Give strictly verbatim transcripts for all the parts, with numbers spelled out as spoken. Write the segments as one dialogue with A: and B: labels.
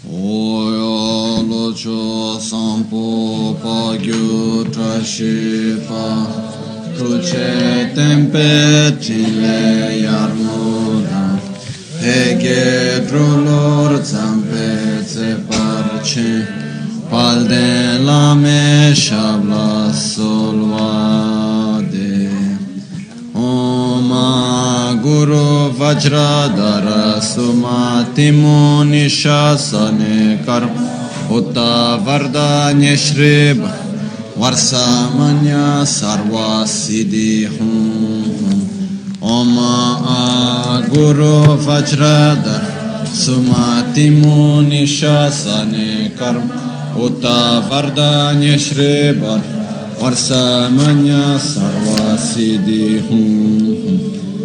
A: Oyo locho sampo pagyu trashipa Kuche tempe chile yarmuda Hege drolor zampe tse parche Palde lame shabla solvade Oma Guru Vajradhara Sumati Muni Shasane Karm Utta Vardanya Shrib Varsamanya Sarva Siddhi Hum Oma Guru Vajradhara Sumati Muni Shasane Karm Utta Vardanya Shrib Varsamanya Sarva Siddhi Hum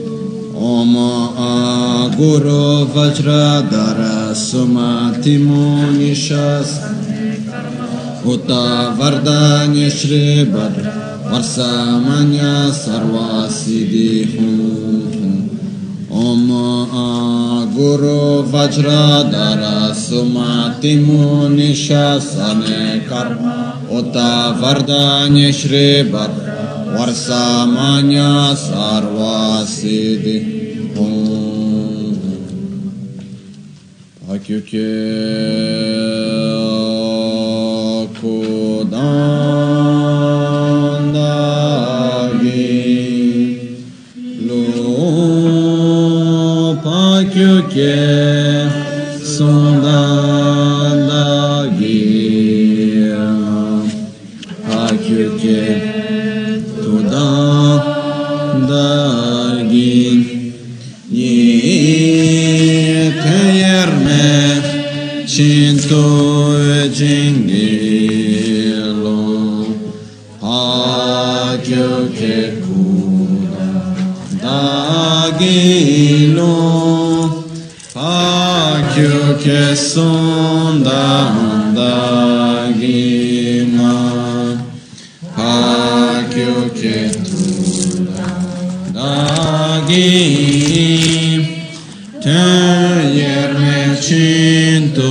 A: Om Guru Vajradhara Sumati Muni Shasane Utta Vardanya Shri Varsamanya Sarva Siddhi Hum Om Guru Vajradhara Sumati Muni Shasane Karma Utta Vardanya Shri Varsamanya Sarva Siddhi Hum Pakyukye Kudandagi Lo Pakyukye Sundandagi Pakyukye Dagi Ye Teyerme Shinto Jingilo Hakyuke Kuda Dagilo Hakyuke Sundandagima Hakyuke Dagi Teyerme Chinto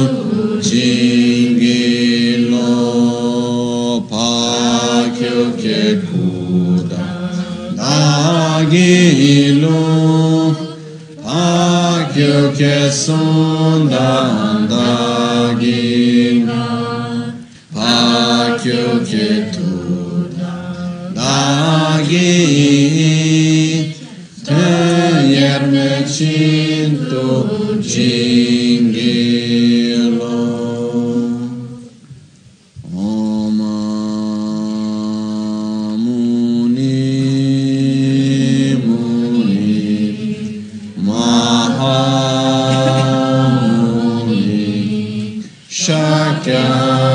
A: Jingilo Pakyukye Kuda Dagilo Pakyukye Sundandagima Pakyukye Dagi Teyerme Chinto Jingilo Om Muni Muni Mahamuni Shakya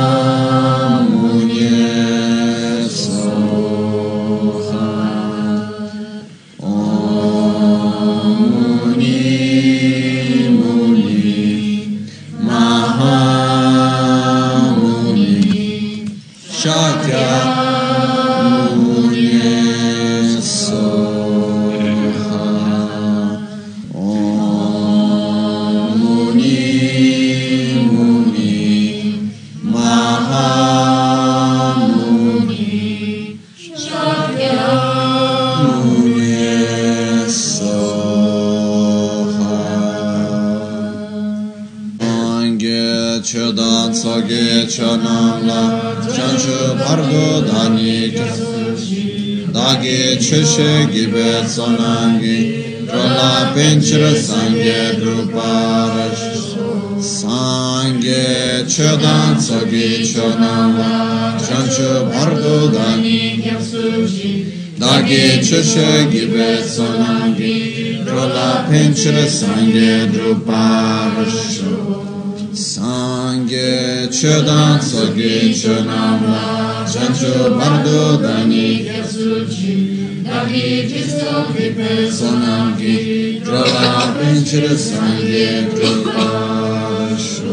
A: Cheshe Gibet Sonangi Drola Pinchra Sangye Druparash Sangye Chodan Sogi Chonama Chanchu Bardo Dani Dagi Cheshe Gibet Sonangi Drola Pinchra Sangye Druparash Sangye Chodan Sogi Chonama Chanchu Bardo Dani Dagi Jisto Vipe Sonangi Drola Pinchra Sangye Drupasho.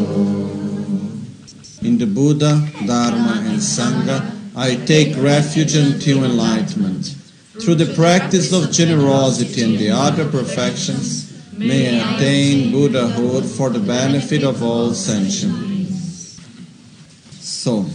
A: In the Buddha, Dharma and Sangha, I take refuge until enlightenment. Through the practice of generosity and the other perfections, may I attain Buddhahood for the benefit of all sentient. So,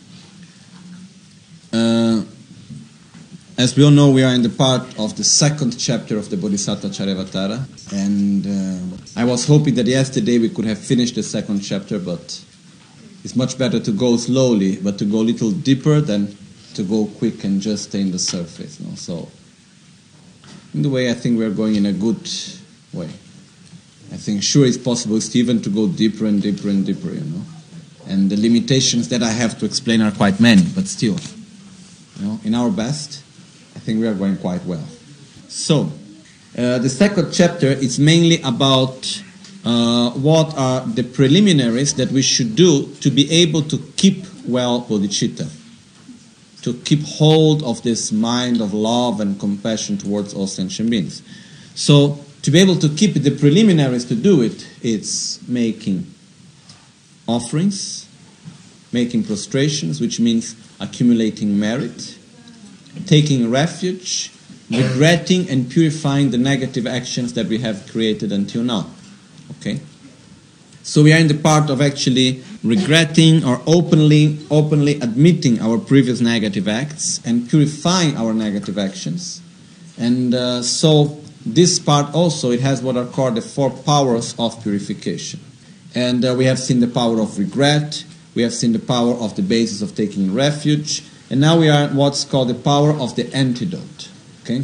A: uh, as we all know, we are in the part of the second chapter of the Bodhisattva Charyavatara, and uh, I was hoping that yesterday we could have finished the second chapter, but it's much better to go slowly, but to go a little deeper than to go quick and just stay in the surface. No? So, in the way, I think we are going in a good way. I think sure it's possible, Stephen, to go deeper and deeper and deeper, you know. And the limitations that I have to explain are quite many, but still, you know, in our best, I think we are going quite well. So, uh, the second chapter is mainly about uh, what are the preliminaries that we should do to be able to keep well bodhicitta, to keep hold of this mind of love and compassion towards all sentient beings. So, to be able to keep the preliminaries to do it, it's making offerings, making prostrations, which means accumulating merit, taking refuge, regretting and purifying the negative actions that we have created until now. Okay? So we are in the part of actually regretting or openly openly admitting our previous negative acts and purifying our negative actions. And uh, so this part also, it has what are called the four powers of purification. And uh, we have seen the power of regret, we have seen the power of the basis of taking refuge, and now we are at what's called the power of the antidote. Okay?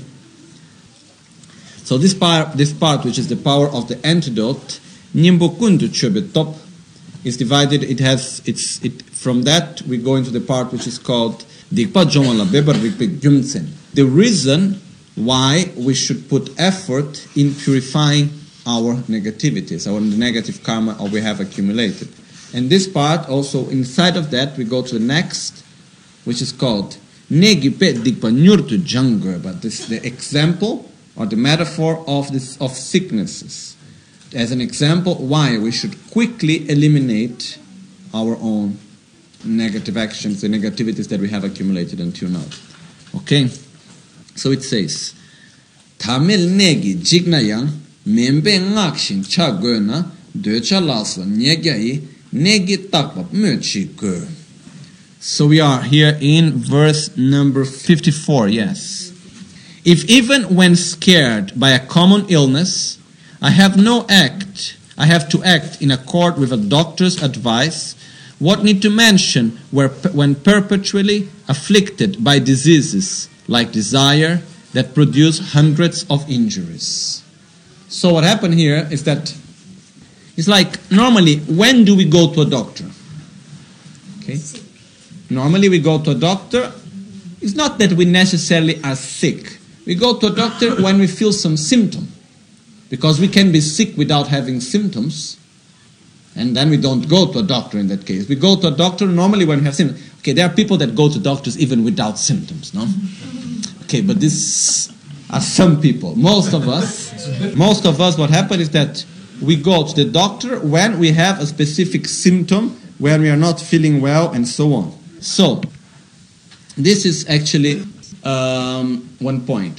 A: So this part, this part, which is the power of the antidote, Nyimbokundu Chobe Top, is divided. It has it's it from that we go into the part which is called Dikpa Jomala Bebar Rikpe Gyumtsen. The reason why we should put effort in purifying our negativities, our negative karma or we have accumulated. And this part also, inside of that, we go to the next, which is called Negipe Dikpa Nyurtu Jangur, but this is the example or the metaphor of this of sicknesses. As an example, why we should quickly eliminate our own negative actions, the negativities that we have accumulated until now. Okay? So it says, Tamil negi jignayang membe ngakshin cha goena decha lasla nyegai negi takbab möchi go. So we are here in verse number fifty-four, yes. If even when scared by a common illness, I have no act, I have to act in accord with a doctor's advice, what need to mention where, when perpetually afflicted by diseases like desire that produce hundreds of injuries. So what happened here is that it's like normally when do we go to a doctor? Okay? Normally we go to a doctor. It's not that we necessarily are sick. We go to a doctor when we feel some symptom. Because we can be sick without having symptoms. And then we don't go to a doctor in that case. We go to a doctor normally when we have symptoms. Okay, there are people that go to doctors even without symptoms, no? Okay, but this are some people. Most of us, most of us, what happens is that we go to the doctor when we have a specific symptom, when we are not feeling well, and so on. So, this is actually um, one point.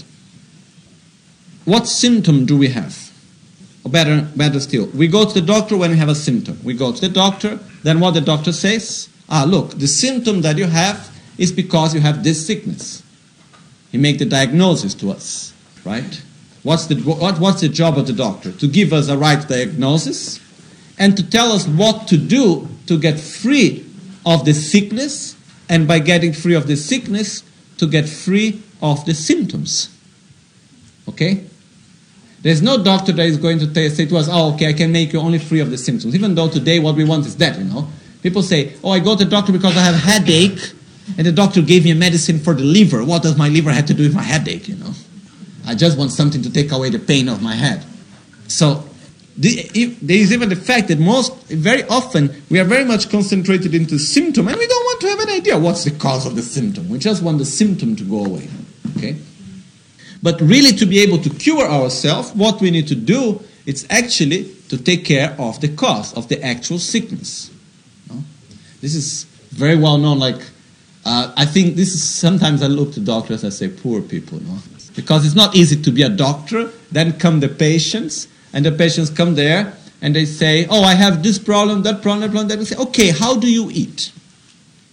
A: What symptom do we have? Or better, better still, we go to the doctor when we have a symptom. We go to the doctor, then what the doctor says? Ah, look, the symptom that you have is because you have this sickness. He makes the diagnosis to us, right? What's the, what, what's the job of the doctor? To give us a right diagnosis and to tell us what to do to get free of the sickness, and by getting free of the sickness, to get free of the symptoms. Okay? There's no doctor that is going to t- say to us, oh, okay, I can make you only free of the symptoms. Even though today what we want is that, you know. People say, oh, I go to the doctor because I have a headache, and the doctor gave me a medicine for the liver. What does my liver have to do with my headache, you know? I just want something to take away the pain of my head. So, the, if, there is even the fact that most, very often, we are very much concentrated into symptom, and we don't want to have an idea what's the cause of the symptom. We just want the symptom to go away, okay? But really to be able to cure ourselves, what we need to do is actually to take care of the cause of the actual sickness. No? This is very well known, like, uh, I think this is, sometimes I look to doctors and say, poor people, no? Because it's not easy to be a doctor, then come the patients, and the patients come there, and they say, oh, I have this problem, that problem, that problem. They say, okay, how do you eat?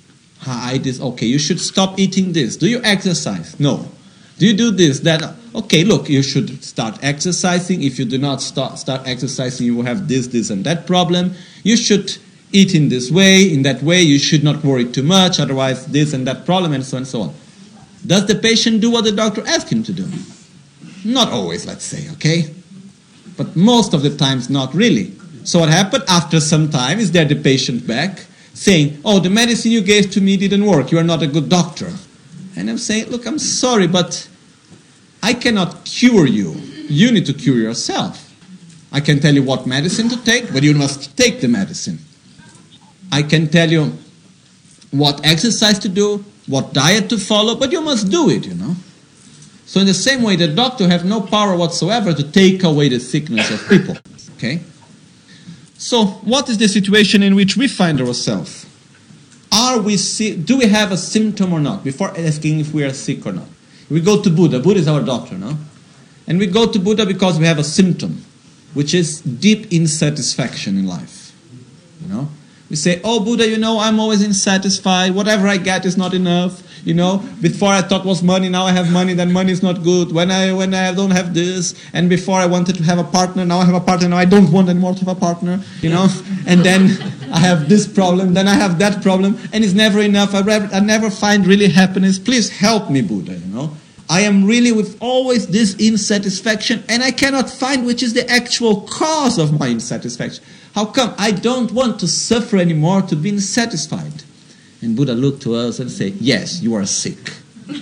A: I this, okay, you should stop eating this. Do you exercise? No. Do you do this, that? Okay, look, you should start exercising. If you do not start, start exercising, you will have this, this, and that problem. You should eat in this way, in that way. You should not worry too much, otherwise this and that problem, and so on and so on. Does the patient do what the doctor asked him to do? Not always, let's say, okay? But most of the times, not really. So what happened? After some time, is there the patient back saying, oh, the medicine you gave to me didn't work. You are not a good doctor. And I'm saying, look, I'm sorry, but I cannot cure you. You need to cure yourself. I can tell you what medicine to take, but you must take the medicine. I can tell you what exercise to do, what diet to follow, but you must do it, you know. So in the same way, the doctor has no power whatsoever to take away the sickness of people. Okay? So what is the situation in which we find ourselves? Are we sick? Do we have a symptom or not? Before asking if we are sick or not. We go to Buddha. Buddha is our doctor, no? And we go to Buddha because we have a symptom, which is deep insatisfaction in life. You know? We say, oh, Buddha, you know, I'm always insatisfied. Whatever I get is not enough. You know, before I thought was money, now I have money, then money is not good. When I when I don't have this, and before I wanted to have a partner, now I have a partner, now I don't want anymore to have a partner, you know. And then I have this problem, then I have that problem, and it's never enough. I, I never find really happiness. Please help me, Buddha, you know. I am really with always this insatisfaction, and I cannot find which is the actual cause of my insatisfaction. How come? I don't want to suffer anymore to be insatisfied. And Buddha looked to us and said, yes, you are sick.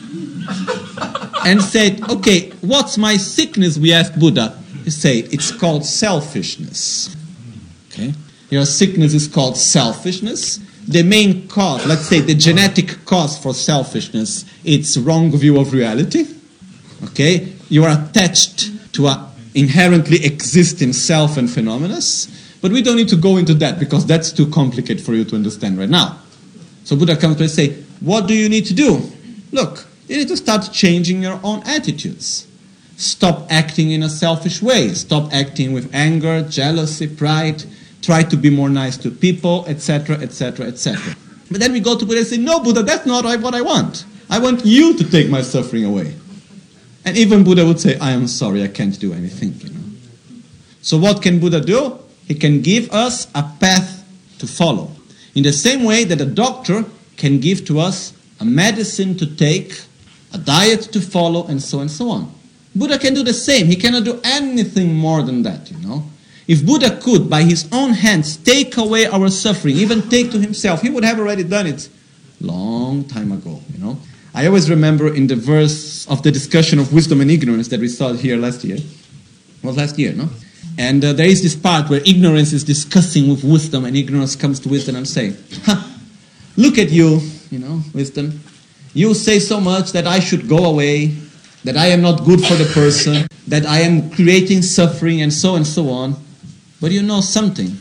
A: And said, okay, what's my sickness? We asked Buddha. He said, it's called selfishness. Okay? Your sickness is called selfishness. The main cause, let's say the genetic cause for selfishness, it's wrong view of reality. Okay? You are attached to an inherently existing self and phenomena. But we don't need to go into that because that's too complicated for you to understand right now. So Buddha comes to us and say, what do you need to do? Look, you need to start changing your own attitudes. Stop acting in a selfish way. Stop acting with anger, jealousy, pride. Try to be more nice to people, et cetera, et cetera, et cetera. But then we go to Buddha and say, no, Buddha, that's not what I want. I want you to take my suffering away. And even Buddha would say, I am sorry, I can't do anything. You know. So what can Buddha do? He can give us a path to follow. In the same way that a doctor can give to us a medicine to take, a diet to follow, and so on and so on. Buddha can do the same. He cannot do anything more than that, you know. If Buddha could, by his own hands, take away our suffering, even take to himself, he would have already done it long time ago, you know. I always remember in the verse of the discussion of wisdom and ignorance that we saw here last year. It was last year, no? And uh, there is this part where ignorance is discussing with wisdom, and ignorance comes to wisdom and say, huh, look at you, you know, wisdom. You say so much that I should go away, that I am not good for the person, that I am creating suffering, and so and so on. But you know something.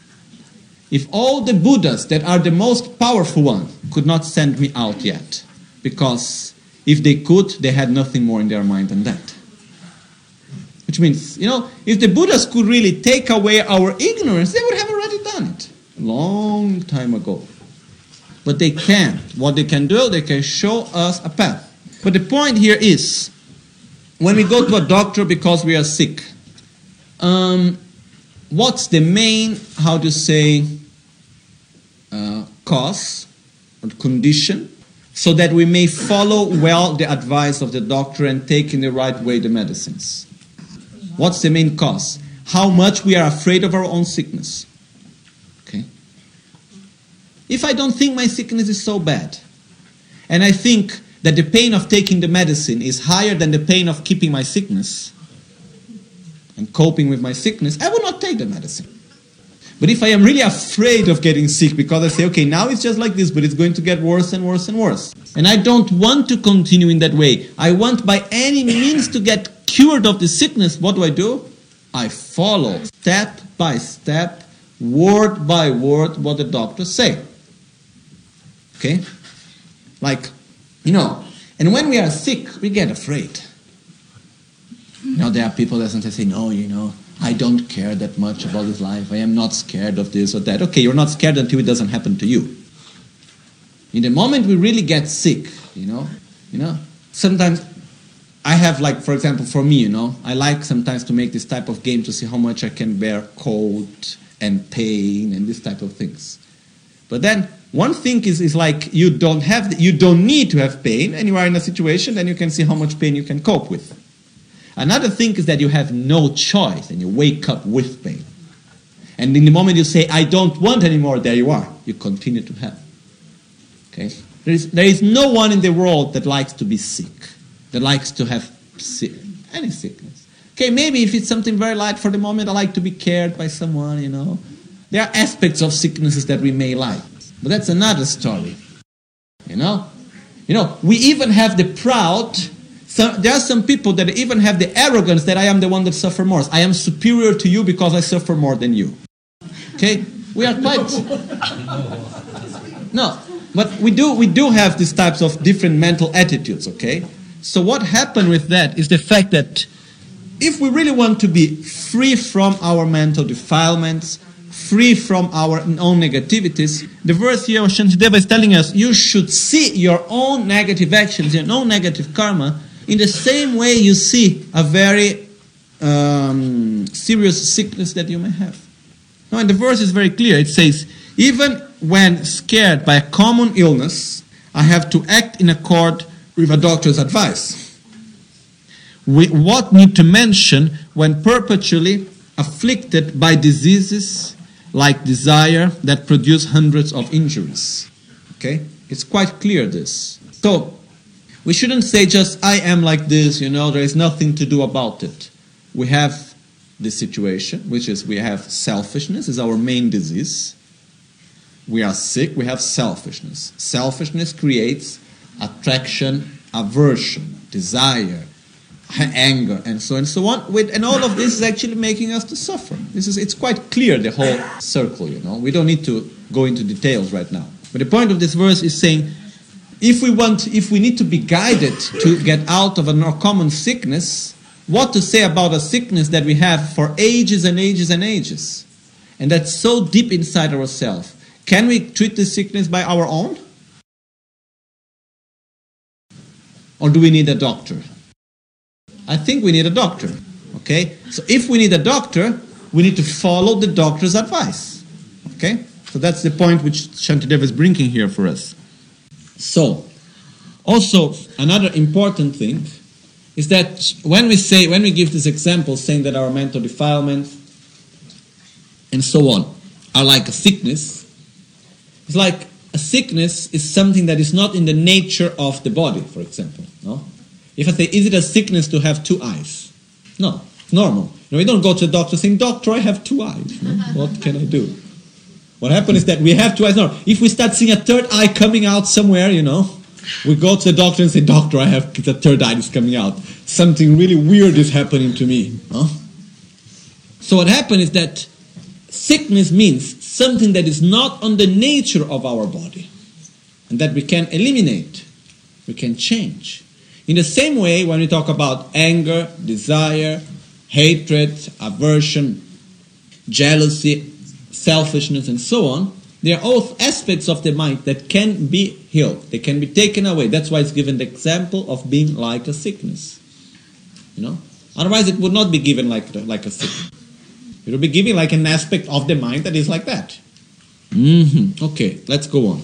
A: If all the Buddhas that are the most powerful one could not send me out yet, because if they could, they had nothing more in their mind than that. Which means, you know, if the Buddhas could really take away our ignorance, they would have already done it a long time ago. But they can't. What they can do, they can show us a path. But the point here is, when we go to a doctor because we are sick, um, what's the main, how to say, uh, cause or condition, so that we may follow well the advice of the doctor and take in the right way the medicines? What's the main cause? How much we are afraid of our own sickness. Okay? If I don't think my sickness is so bad, and I think that the pain of taking the medicine is higher than the pain of keeping my sickness and coping with my sickness, I will not take the medicine. But if I am really afraid of getting sick because I say, okay, now it's just like this, but it's going to get worse and worse and worse, and I don't want to continue in that way, I want by any means to get cured of the sickness, what do I do? I follow step by step, word by word, what the doctors say. Okay? Like, you know, and when we are sick, we get afraid. You know, there are people that sometimes say, no, you know, I don't care that much about this life. I am not scared of this or that. Okay, you're not scared until it doesn't happen to you. In the moment we really get sick, you know, you know, sometimes I have, like, for example, for me, you know, I like sometimes to make this type of game to see how much I can bear cold and pain and this type of things. But then one thing is, is like you don't have, you don't need to have pain, and you are in a situation, then you can see how much pain you can cope with. Another thing is that you have no choice, and you wake up with pain. And in the moment you say, I don't want anymore, there you are. You continue to have. Okay? There is, there is no one in the world that likes to be sick, that likes to have sick, any sickness. Okay, maybe if it's something very light for the moment, I like to be cared by someone, you know. There are aspects of sicknesses that we may like. But that's another story. You know? You know, we even have the proud, so there are some people that even have the arrogance that I am the one that suffer more. I am superior to you because I suffer more than you. Okay? We are quite... No, but we do, we do have these types of different mental attitudes, okay? So what happened with that is the fact that if we really want to be free from our mental defilements, free from our own negativities, the verse here of Shantideva is telling us you should see your own negative actions, your own negative karma, in the same way you see a very um, serious sickness that you may have. Now, and the verse is very clear. It says, even when scared by a common illness, I have to act in accord with a doctor's advice. We what need to mention when perpetually afflicted by diseases like desire that produce hundreds of injuries. Okay? It's quite clear this. So, we shouldn't say just, I am like this, you know, there is nothing to do about it. We have this situation, which is we have selfishness, is our main disease. We are sick, we have selfishness. Selfishness creates attraction, aversion, desire, anger, and so on and so on. With, and all of this is actually making us to suffer. This is, it's quite clear, the whole circle, you know. We don't need to go into details right now. But the point of this verse is saying, if we want, if we need to be guided to get out of a more common sickness, what to say about a sickness that we have for ages and ages and ages, and that's so deep inside ourselves. Can we treat this sickness by our own? Or do we need a doctor? I think we need a doctor. Okay? So if we need a doctor, we need to follow the doctor's advice. Okay? So that's the point which Shantideva is bringing here for us. So, also another important thing is that when we say, when we give this example saying that our mental defilements and so on are like a sickness, it's like a sickness is something that is not in the nature of the body, for example. No? If I say, is it a sickness to have two eyes? No, normal. You know, we don't go to the doctor saying, doctor, I have two eyes. No? What can I do? What happens is that we have two eyes. No, if we start seeing a third eye coming out somewhere, you know, we go to the doctor and say, doctor, I have the third eye is coming out. Something really weird is happening to me. No? So what happens is that sickness means something that is not on the nature of our body and that we can eliminate, we can change. In the same way, when we talk about anger, desire, hatred, aversion, jealousy, selfishness, and so on, they are all aspects of the mind that can be healed. They can be taken away. That's why it's given the example of being like a sickness. You know? Otherwise, it would not be given like, like a sickness. It would be given like an aspect of the mind that is like that. Mm-hmm. Okay, let's go on.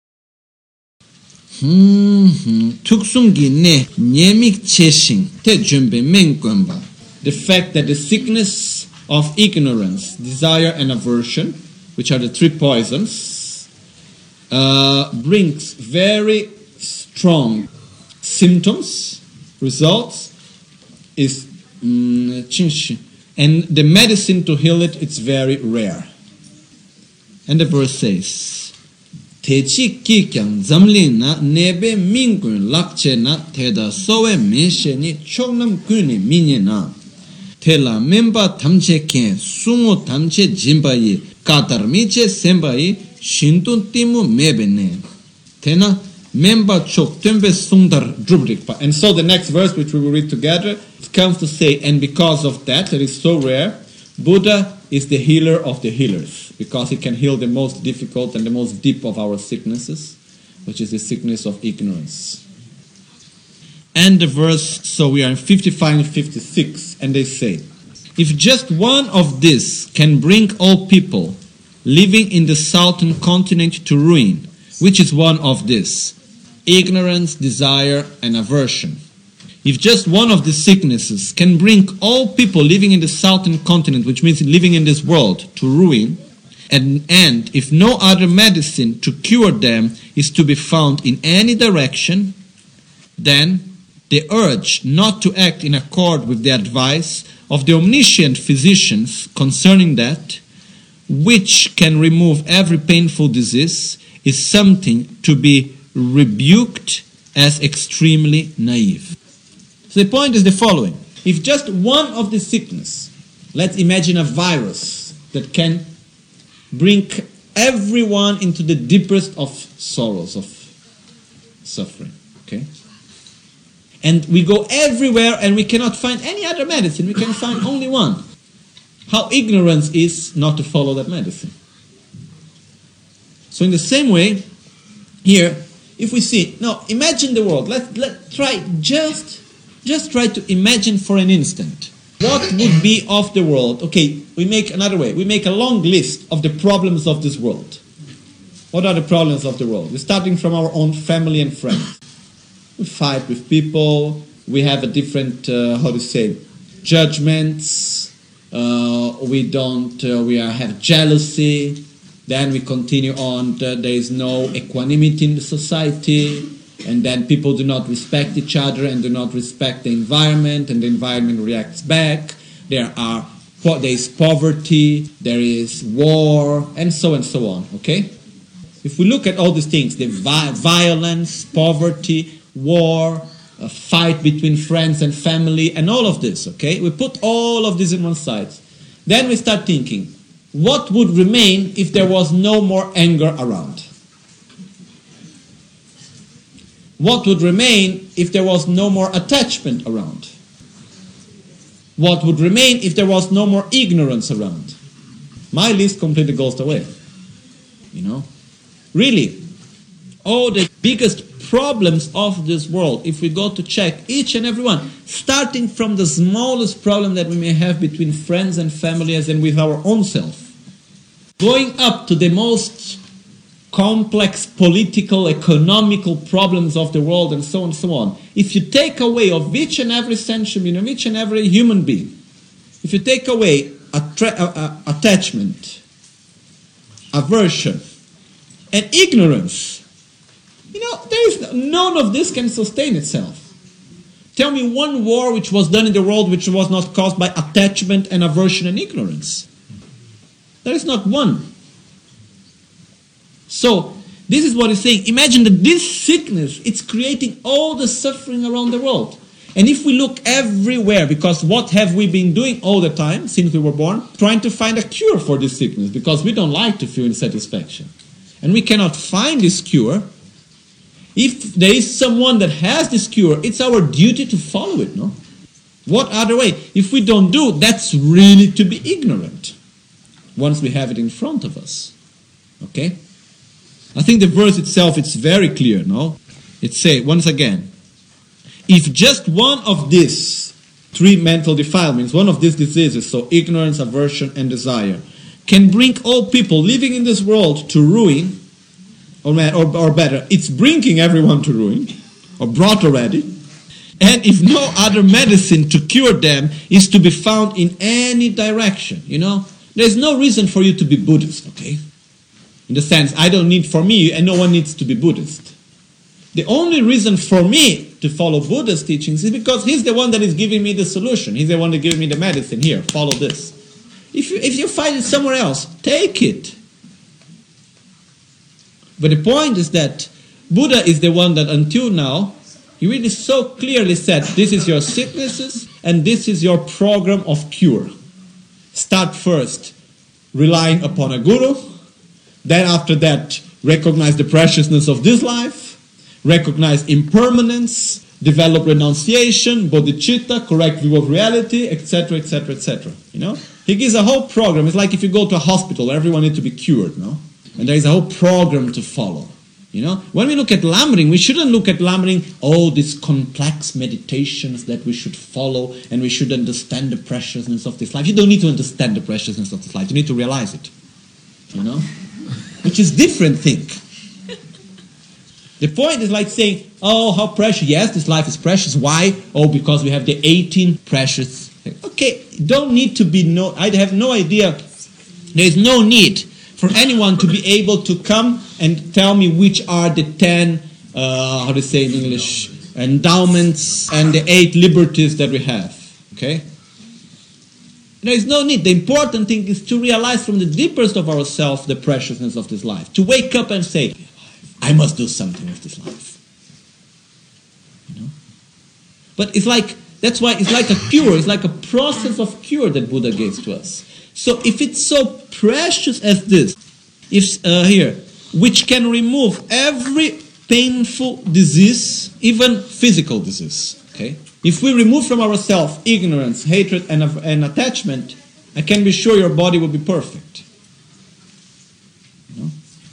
A: The fact that the sickness of ignorance, desire, and aversion, which are the three poisons, uh, brings very strong symptoms, results, is mm, and the medicine to heal it, it's very rare. And the verse says, Techi kikyang zamlin na nebe mingun lakche na teda sowe meshe ni choknam kuni minye na tela memba tamche ken sungo tamche jimbayi katar miche sembayi shintun timu mebe ne tena memba chok tembe sundar drubrikpa. And so the next verse which we will read together, it comes to say, and because of that, that is so rare, Buddha is the healer of the healers, because he can heal the most difficult and the most deep of our sicknesses. which is the sickness of ignorance. And the verse, so we are in fifty-five and fifty-six, and they say, if just one of these can bring all people living in the southern continent to ruin, which is one of these? Ignorance, desire, and aversion. If just one of the sicknesses can bring all people living in the southern continent, which means living in this world, to ruin, and, and if no other medicine to cure them is to be found in any direction, then the urge not to act in accord with the advice of the omniscient physicians concerning that, which can remove every painful disease, is something to be rebuked as extremely naive. So the point is the following. If just one of the sickness, let's imagine a virus that can bring everyone into the deepest of sorrows, of suffering, okay? And we go everywhere and we cannot find any other medicine. We can find only one. How ignorance is not to follow that medicine. So in the same way, here, if we see, now imagine the world. Let's let try just, just try to imagine for an instant. What would be of the world? Okay, we make another way. We make a long list of the problems of this world. What are the problems of the world? We're starting from our own family and friends. We fight with people. We have a different, uh, how to say, judgments. Uh, we don't, uh, we are, have jealousy. Then we continue on. The, there is no equanimity in the society. And then people do not respect each other and do not respect the environment, and the environment reacts back. There are there is poverty, there is war, and so and so on. Okay? If we look at all these things, the vi- violence, poverty, war, a fight between friends and family, and all of this, okay? We put all of this in one side. Then we start thinking, what would remain if there was no more anger around? What would remain if there was no more attachment around? What would remain if there was no more ignorance around? My list completely goes away. You know? Really, all the biggest problems of this world, if we go to check each and every one, starting from the smallest problem that we may have between friends and families and with our own self, going up to the most complex political, economical problems of the world, and so on and so on. If you take away of each and every sentient, of each and every human being, if you take away attra- uh, uh, attachment, aversion, and ignorance, you know, there is none of this can sustain itself. Tell me one war which was done in the world which was not caused by attachment and aversion and ignorance. There is not one. So, this is what he's saying. Imagine that this sickness, it's creating all the suffering around the world. And if we look everywhere, because what have we been doing all the time since we were born? Trying to find a cure for this sickness, because we don't like to feel insatisfaction. And we cannot find this cure. If there is someone that has this cure, it's our duty to follow it, no? What other way? If we don't do, that's really to be ignorant. Once we have it in front of us. Okay? I think the verse itself, it's very clear, no? It says, once again, if just one of these three mental defilements, one of these diseases, so ignorance, aversion, and desire, can bring all people living in this world to ruin, or, or, or better, it's bringing everyone to ruin, or brought already, and if no other medicine to cure them is to be found in any direction, you know? There's no reason for you to be Buddhist, okay? In the sense, I don't need for me, and no one needs to be Buddhist. The only reason for me to follow Buddha's teachings is because he's the one that is giving me the solution. He's the one that giving me the medicine. Here, follow this. If you, if you find it somewhere else, take it. But the point is that Buddha is the one that until now, he really so clearly said, this is your sicknesses, and this is your program of cure. Start first relying upon a guru. Then after that, recognize the preciousness of this life, recognize impermanence, develop renunciation, bodhicitta, correct view of reality, et cetera, et cetera, et cetera. You know, he gives a whole program. It's like if you go to a hospital, everyone needs to be cured, no? And there is a whole program to follow. You know, when we look at Lamrim, we shouldn't look at Lamrim, oh, these complex meditations that we should follow, and we should understand the preciousness of this life. You don't need to understand the preciousness of this life. You need to realize it. You know? Which is different thing. The point is like saying, oh, how precious. Yes, this life is precious. Why? Oh, because we have the eighteen precious things. Okay, don't need to be, no, I have no idea. There is no need for anyone to be able to come and tell me which are the ten, uh, how to say in English, endowments and the eight liberties that we have. Okay? There is no need. The important thing is to realize from the deepest of ourselves the preciousness of this life. To wake up and say, I must do something with this life. You know? But it's like, that's why it's like a cure. It's like a process of cure that Buddha gave to us. So if it's so precious as this, if uh, here, which can remove every painful disease, even physical disease, okay? If we remove from ourselves ignorance, hatred, and, and attachment, I can be sure your body will be perfect. You know?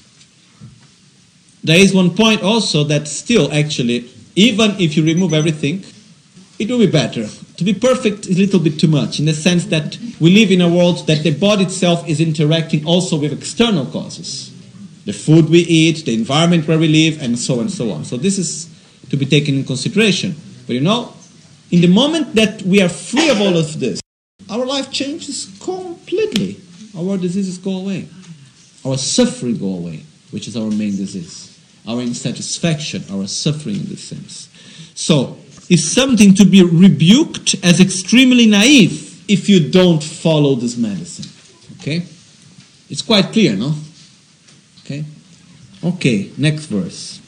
A: There is one point also that still actually, even if you remove everything, it will be better. To be perfect is a little bit too much, in the sense that we live in a world that the body itself is interacting also with external causes. The food we eat, the environment where we live, and so on and so on. So this is to be taken in consideration. But you know, in the moment that we are free of all of this, our life changes completely. Our diseases go away. Our suffering go away, which is our main disease. Our insatisfaction, our suffering in this sense. So, it's something to be rebuked as extremely naive if you don't follow this medicine. Okay? It's quite clear, no? Okay? Okay, next verse.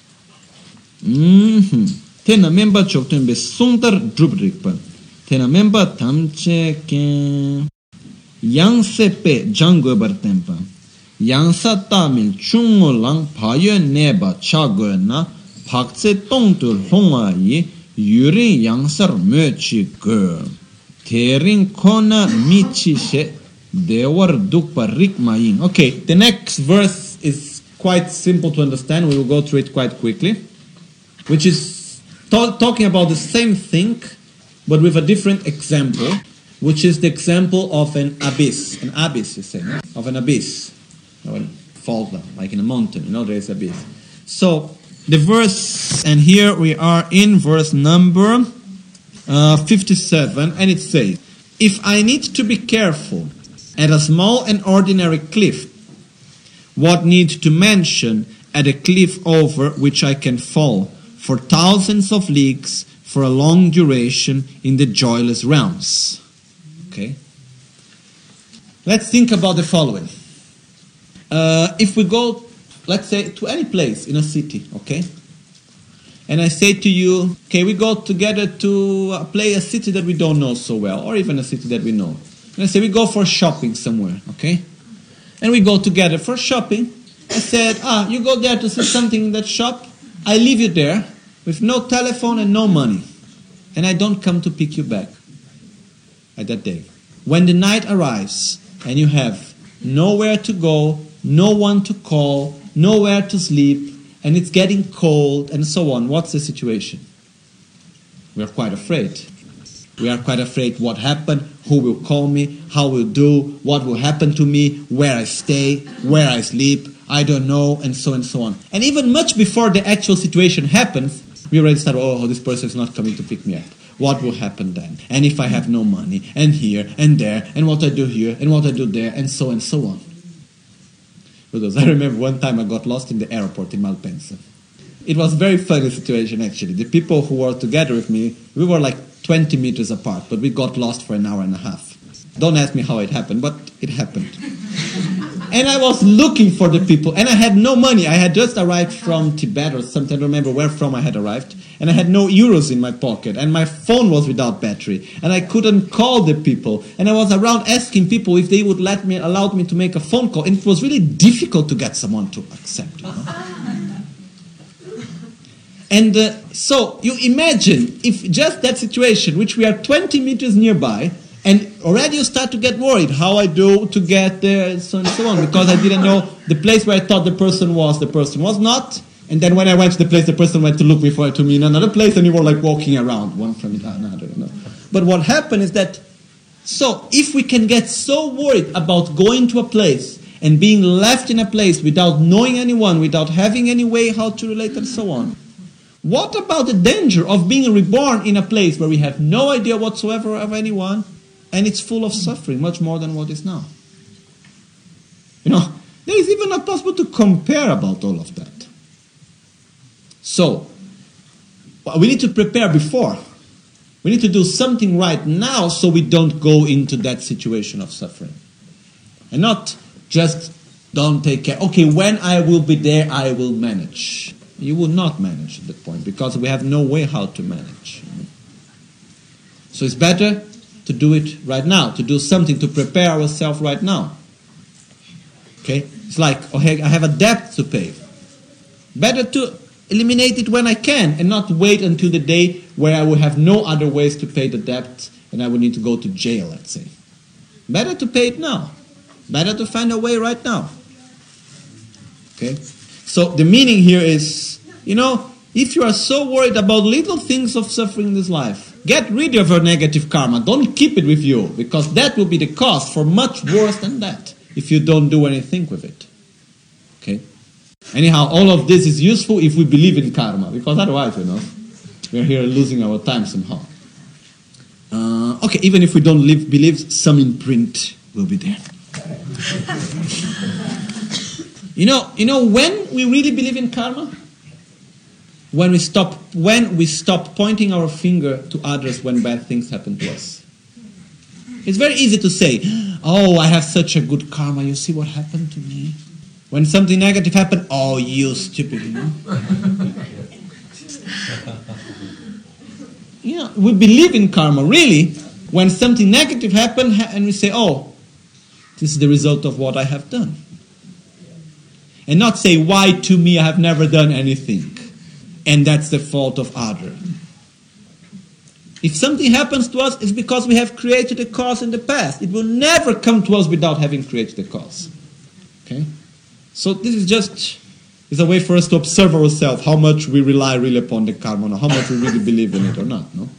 A: Mm-hmm. Tena memba chokten be sungtar drubrikpa. Tena memba tamche ke yang sepe jango bartempa. Yang sa tamil chungo lang payo neba chago na pakse tongtur honga yi Yuri yangsar möchi go. Terin kona michi she dewar dukpa rikmayin. Okay, the next verse is quite simple to understand. We will go through it quite quickly. Which is to- talking about the same thing, but with a different example. Which is the example of an abyss. An abyss, you say, no? Of an abyss. Or fall down, like in a mountain, you know, there is abyss. So, the verse, and here we are in verse number uh, fifty-seven, and it says, if I need to be careful at a small and ordinary cliff, what need to mention at a cliff over which I can fall for thousands of leagues for a long duration in the joyless realms? Okay? Let's think about the following. Uh, if we go, let's say, to any place in a city, okay? And I say to you, okay, we go together to uh, play a city that we don't know so well, or even a city that we know. And I say, we go for shopping somewhere, okay? And we go together for shopping. I said, ah, you go there to see something in that shop. I leave you there with no telephone and no money. And I don't come to pick you back at that day. When the night arrives and you have nowhere to go, no one to call, nowhere to sleep, and it's getting cold, and so on. What's the situation? We are quite afraid. We are quite afraid what happened, who will call me, how will do, what will happen to me, where I stay, where I sleep, I don't know, and so and so on. And even much before the actual situation happens, we already start, oh, this person is not coming to pick me up. What will happen then? And if I have no money, and here, and there, and what I do here, and what I do there, and so and so on. Because I remember one time I got lost in the airport in Malpensa. It was a very funny situation actually. The people who were together with me, we were like twenty meters apart, but we got lost for an hour and a half. Don't ask me how it happened, but it happened. And I was looking for the people, and I had no money. I had just arrived from Tibet or something, I don't remember where from I had arrived, and I had no euros in my pocket, and my phone was without battery, and I couldn't call the people, and I was around asking people if they would let me, allowed me to make a phone call, and it was really difficult to get someone to accept, you know? And uh, so, you imagine if just that situation, which we are twenty meters nearby, And already you start to get worried, how I do to get there, and so on and so on, because I didn't know the place where I thought the person was, the person was not. And then when I went to the place, the person went to look me for to me in another place, and you were like walking around, one from another. You know? But what happened is that, so if we can get so worried about going to a place and being left in a place without knowing anyone, without having any way how to relate and so on, what about the danger of being reborn in a place where we have no idea whatsoever of anyone, and it's full of suffering, much more than what is now? You know, there is even not possible to compare about all of that. So, we need to prepare before. We need to do something right now so we don't go into that situation of suffering. And not just don't take care. Okay, when I will be there, I will manage. You will not manage at that point because we have no way how to manage. So it's better to do it right now, to do something to prepare ourselves right now. Okay? It's like, okay, I have a debt to pay. Better to eliminate it when I can and not wait until the day where I will have no other ways to pay the debt and I will need to go to jail, let's say. Better to pay it now. Better to find a way right now. Okay? So the meaning here is, you know, if you are so worried about little things of suffering in this life, get rid of your negative karma. Don't keep it with you, because that will be the cause for much worse than that if you don't do anything with it. Okay? Anyhow, all of this is useful if we believe in karma, because otherwise, you know, we're here losing our time somehow. Uh, okay, even if we don't live, believe, some imprint will be there. You know, you know when we really believe in karma? When we stop, when we stop pointing our finger to others when bad things happen to us. It's very easy to say, oh, I have such a good karma, you see what happened to me? When something negative happened, oh, you stupid, you know? You know, we believe in karma, really, when something negative happened and we say, oh, this is the result of what I have done. And not say, why to me, I have never done anything. And that's the fault of others. If something happens to us, it's because we have created a cause in the past. It will never come to us without having created a cause. Okay? So this is just is a way for us to observe ourselves, how much we rely really upon the karma, or how much we really believe in it or not. No?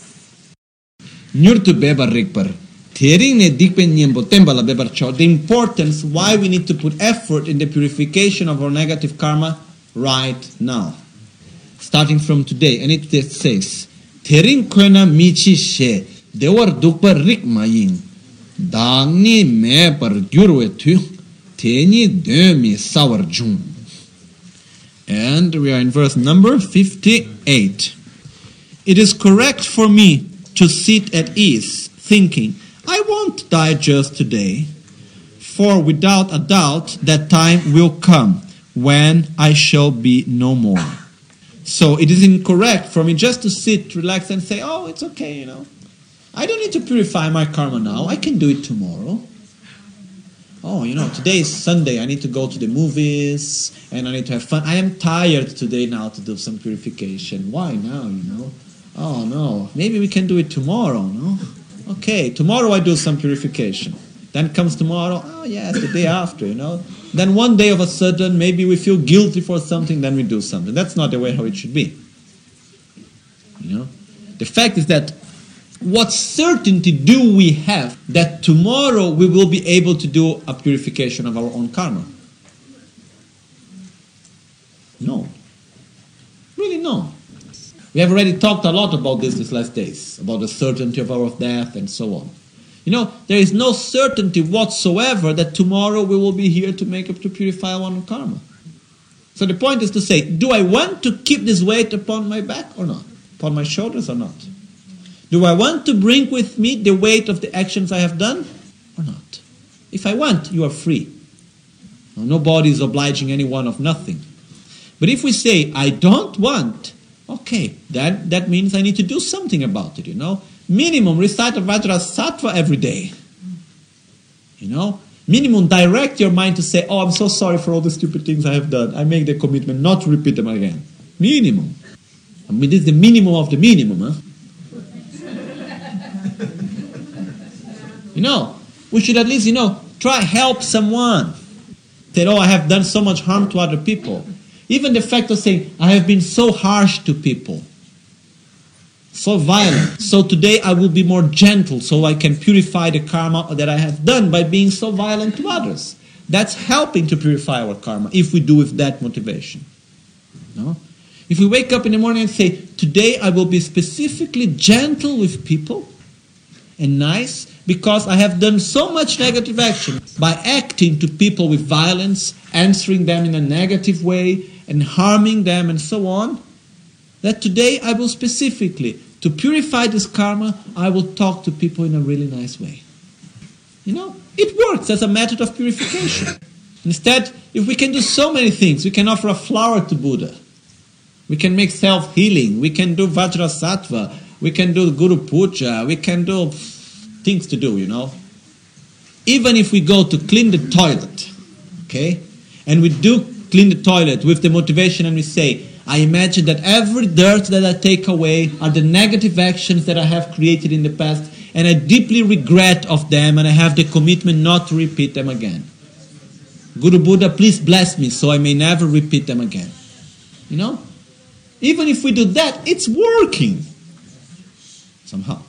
A: The importance why we need to put effort in the purification of our negative karma right now. Starting from today. And it says, Tering kona michi she, dewar dukpa rik mayin, dangni me par gyurwe tu, teni demi sawar jun. And we are in verse number fifty-eight. It is correct for me to sit at ease, thinking, I won't die just today, for without a doubt that time will come when I shall be no more. So it is incorrect for me just to sit, relax, and say, oh, it's okay, you know. I don't need to purify my karma now. I can do it tomorrow. Oh, you know, today is Sunday. I need to go to the movies, and I need to have fun. I am tired today now to do some purification. Why now, you know? Oh, no. Maybe we can do it tomorrow, no? Okay, tomorrow I do some purification. Then comes tomorrow, oh yes, the day after, you know. Then one day of a sudden, maybe we feel guilty for something, then we do something. That's not the way how it should be. You know. The fact is that what certainty do we have that tomorrow we will be able to do a purification of our own karma? No. Really no. We have already talked a lot about this these last days, about the certainty of our death and so on. You know, there is no certainty whatsoever that tomorrow we will be here to make up to purify our own karma. So the point is to say, do I want to keep this weight upon my back or not? Upon my shoulders or not? Do I want to bring with me the weight of the actions I have done or not? If I want, you are free. Nobody is obliging anyone of nothing. But if we say, I don't want, okay, that, that means I need to do something about it, you know. Minimum, recite a Vajrasattva every day. You know? Minimum, direct your mind to say, oh, I'm so sorry for all the stupid things I have done. I make the commitment not to repeat them again. Minimum. I mean, this is the minimum of the minimum, huh?
B: You know, we should at least, you know, try help someone. Say, oh, I have done so much harm to other people. Even the fact of saying, I have been so harsh to people, so violent. So today I will be more gentle so I can purify the karma that I have done by being so violent to others. That's helping to purify our karma if we do with that motivation. No? If we wake up in the morning and say, today I will be specifically gentle with people and nice because I have done so much negative action by acting to people with violence, answering them in a negative way and harming them and so on, that today I will specifically, to purify this karma, I will talk to people in a really nice way. You know, it works as a method of purification. Instead, if we can do so many things, we can offer a flower to Buddha. We can make self-healing. We can do Vajrasattva. We can do Guru Puja. We can do things to do, you know. Even if we go to clean the toilet, okay, and we do clean the toilet with the motivation and we say, I imagine that every dirt that I take away are the negative actions that I have created in the past, and I deeply regret of them, and I have the commitment not to repeat them again. Guru Buddha, please bless me so I may never repeat them again. You know? Even if we do that, it's working. Somehow.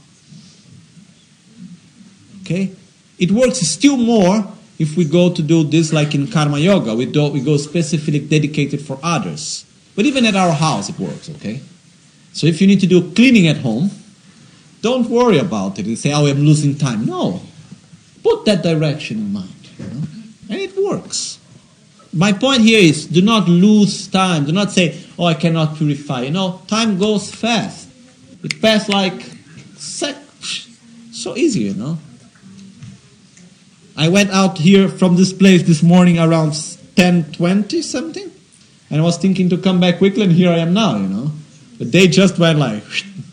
B: Okay? It works still more if we go to do this like in Karma Yoga. We, do, we go specifically dedicated for others. But even at our house it works, okay? So if you need to do cleaning at home, don't worry about it and say, oh, I'm losing time. No. Put that direction in mind. You know? And it works. My point here is, do not lose time. Do not say, oh, I cannot purify. You know, time goes fast. It passes like, sec- so easy, you know. I went out here from this place this morning around ten twenty something. And I was thinking to come back quickly, and here I am now, you know. The day just went like,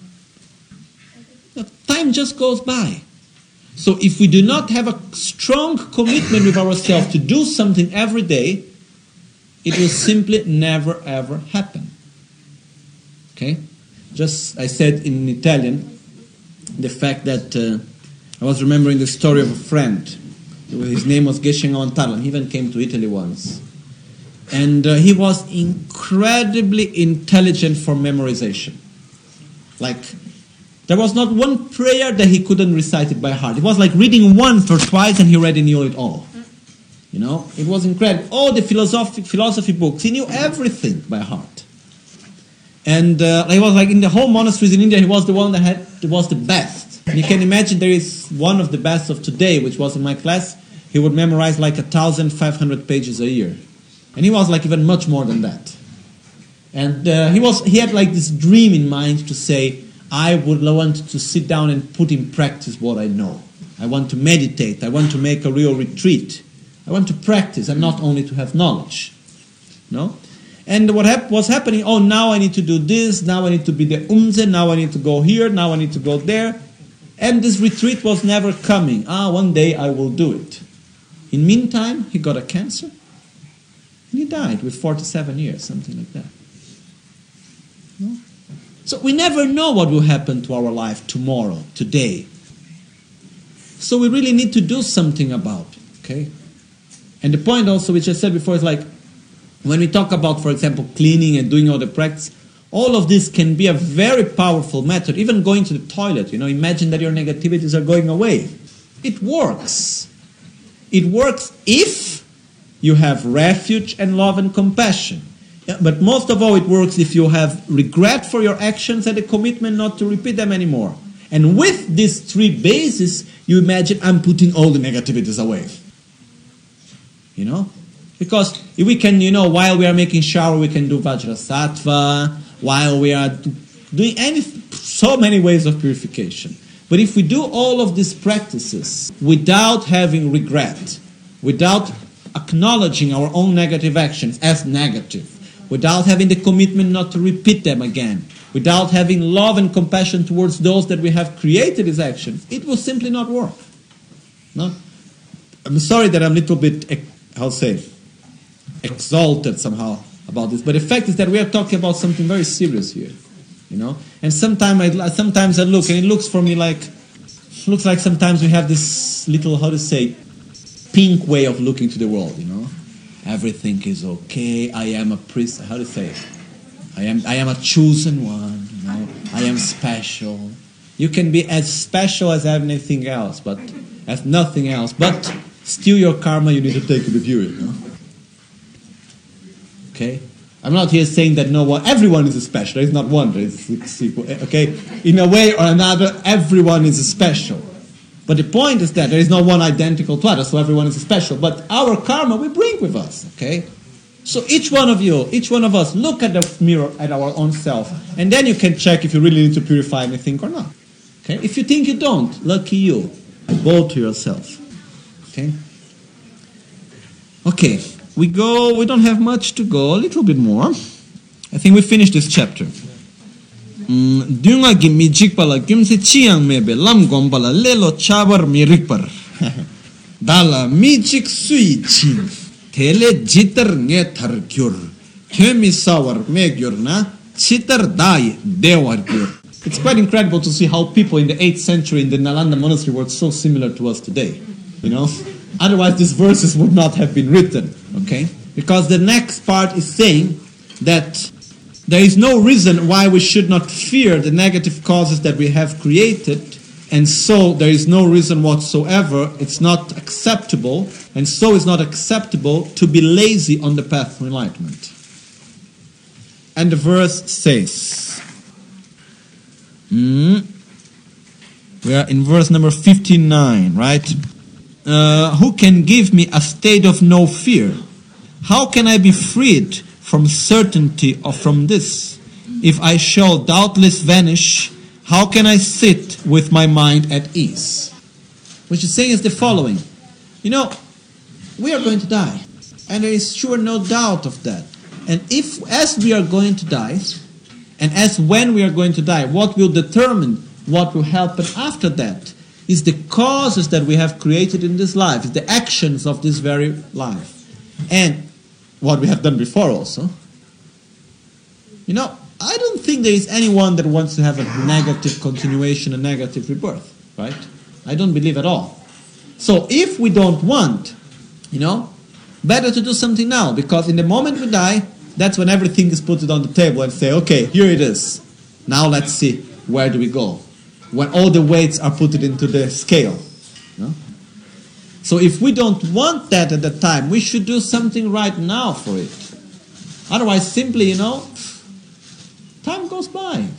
B: time just goes by. So if we do not have a strong commitment with ourselves to do something every day, it will simply never ever happen. Okay? Just, I said in Italian, the fact that uh, I was remembering the story of a friend. His name was Geshe Ngawantarla. He even came to Italy once. And uh, he was incredibly intelligent for memorization. Like, there was not one prayer that he couldn't recite it by heart. It was like reading once or twice and he already knew it all. You know, it was incredible. All the philosophy, philosophy books, he knew everything by heart. And uh, he was like in the whole monasteries in India, he was the one that had that was the best. And you can imagine there is one of the best of today, which was in my class. He would memorize like one thousand five hundred pages a year. And he was like even much more than that. And uh, he was he had like this dream in mind to say, I would want to sit down and put in practice what I know. I want to meditate. I want to make a real retreat. I want to practice and not only to have knowledge. No? And what hap- was happening, oh, now I need to do this, now I need to be the umze, now I need to go here, now I need to go there. And this retreat was never coming. Ah, one day I will do it. In meantime, he got a cancer. And he died with forty-seven years, something like that. No? So we never know what will happen to our life tomorrow, today. So we really need to do something about it, okay? And the point also, which I said before, is like, when we talk about, for example, cleaning and doing all the practice, all of this can be a very powerful method. Even going to the toilet, you know, imagine that your negativities are going away. It works. It works if you have refuge and love and compassion. Yeah, but most of all, it works if you have regret for your actions and a commitment not to repeat them anymore. And with these three bases, you imagine I'm putting all the negativities away. You know? Because if we can, you know, while we are making shower, we can do Vajrasattva, while we are doing any, so many ways of purification. But if we do all of these practices without having regret, without acknowledging our own negative actions as negative, without having the commitment not to repeat them again, without having love and compassion towards those that we have created as actions, it will simply not work. No? I'm sorry that I'm a little bit, I'll say, exalted somehow about this, but the fact is that we are talking about something very serious here, you know. And sometimes I, sometimes I look, and it looks for me like looks like sometimes we have this little, how to say, pink way of looking to the world, you know. Everything is okay. I am a priest. How to say it? I am, I am a chosen one, you know. I am special. You can be as special as anything else, but as nothing else. But still your karma you need to take with you, you know. Okay? I'm not here saying that no one, everyone is special. There is not one. There is six equal. Okay? In a way or another, everyone is special. But the point is that there is no one identical to others, so everyone is special. But our karma we bring with us, okay? So each one of you, each one of us, look at the mirror, at our own self, and then you can check if you really need to purify anything or not. Okay? If you think you don't, lucky you. Bow to yourself. Okay? Okay, we go, we don't have much to go, a little bit more. I think we finished this chapter. Dunga gi mi jikpala gimse chiang mebe lam gombala lelo chabar mi rikpar dala mi jik sui chin tele jitar nge thar gyur themi sawar me gyur na chitar dai dewar gyur. It's quite incredible to see how people in the eighth century in the Nalanda monastery were so similar to us today, you know. Otherwise these verses would not have been written, okay? Because the next part is saying that there is no reason why we should not fear the negative causes that we have created, and so there is no reason whatsoever, it's not acceptable, and so it's not acceptable to be lazy on the path of enlightenment. And the verse says, mm, we are in verse number fifty-nine, right? Uh, who can give me a state of no fear? How can I be freed from certainty or from this? If I shall doubtless vanish, how can I sit with my mind at ease? What she's saying is the following. You know, we are going to die. And there is sure no doubt of that. And if, as we are going to die, and as when we are going to die, what will determine what will happen after that is the causes that we have created in this life, is the actions of this very life. And what we have done before also. You know, I don't think there is anyone that wants to have a negative continuation, a negative rebirth, right? I don't believe at all. So if we don't want, you know, better to do something now, because in the moment we die, that's when everything is put on the table and say, okay, here it is. Now let's see, where do we go? When all the weights are put into the scale, you know? So if we don't want that at the time, we should do something right now for it. Otherwise, simply, you know, time goes by.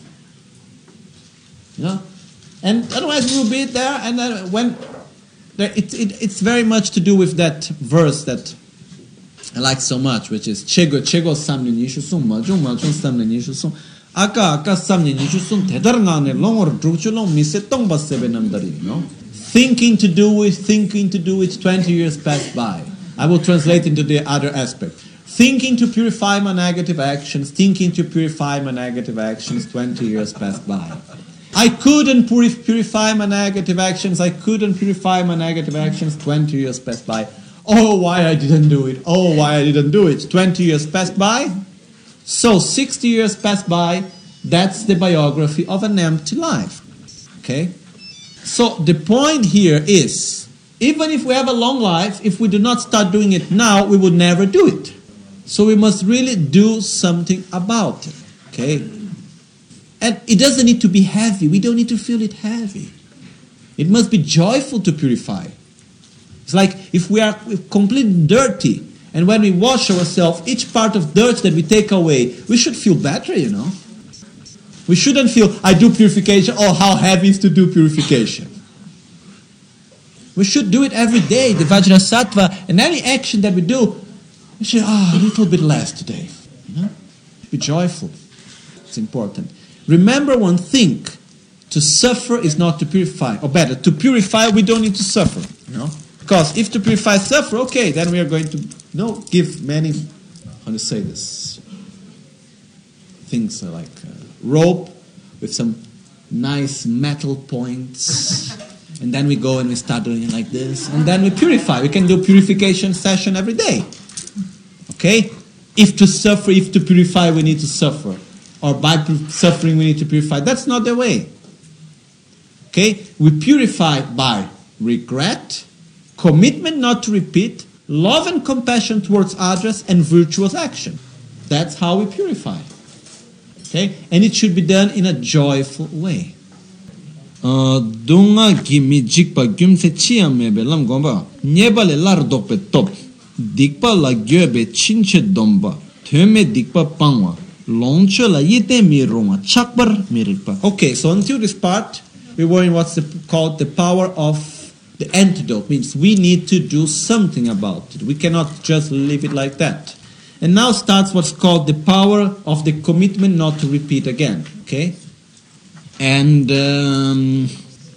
B: You know? And otherwise we will be there, and then when... It, it, it's very much to do with that verse that I like so much, which is Chego Chego Samne Nishu Sum Majung Majung Samne Nishu Sum Aka Aka Samne Nishu Sum Tedarngane Longor Drukchulong Mise Tongba Sebe Namdari, you know? Thinking to do it, thinking to do it, twenty years passed by. I will translate into the other aspect. Thinking to purify my negative actions, thinking to purify my negative actions, twenty years passed by. I couldn't purify my negative actions, I couldn't purify my negative actions, twenty years passed by. Oh, why I didn't do it, oh, why I didn't do it. twenty years passed by, so sixty years passed by, that's the biography of an empty life. Okay? So the point here is, even if we have a long life, if we do not start doing it now, we would never do it. So we must really do something about it. Okay? And it doesn't need to be heavy. We don't need to feel it heavy. It must be joyful to purify. It's like if we are completely dirty, and when we wash ourselves, each part of dirt that we take away, we should feel better, you know. We shouldn't feel, I do purification, oh, how heavy is to do purification. We should do it every day, the Vajrasattva, and any action that we do, we should, ah, oh, a little bit less today. You know? Be joyful. It's important. Remember one thing, to suffer is not to purify. Or better, to purify, we don't need to suffer. You know? Because if to purify suffer, okay, then we are going to you know, give many, how to say this, things like uh, rope with some nice metal points, and then we go and we start doing it like this, and then we purify. We can do purification session every day. Okay? If to suffer, if to purify, we need to suffer. Or by suffering we need to purify. That's not the way. Okay? We purify by regret, commitment not to repeat, love and compassion towards others, and virtuous action. That's how we purify. Okay? And it should be done in a joyful way.
A: Dunga gimi jikpa gyumse chiyamebe lam gomba nyeba le lar dokpe top dikpa la gyobe chinche domba theme dikpa pangwa longche la yete mi ronga chakbar mirikpa.
B: Okay, so until this part we were in what's the, called the power of the antidote. Means we need to do something about it. We cannot just leave it like that. And now starts what's called the power of the commitment not to repeat again. Okay?
A: And um,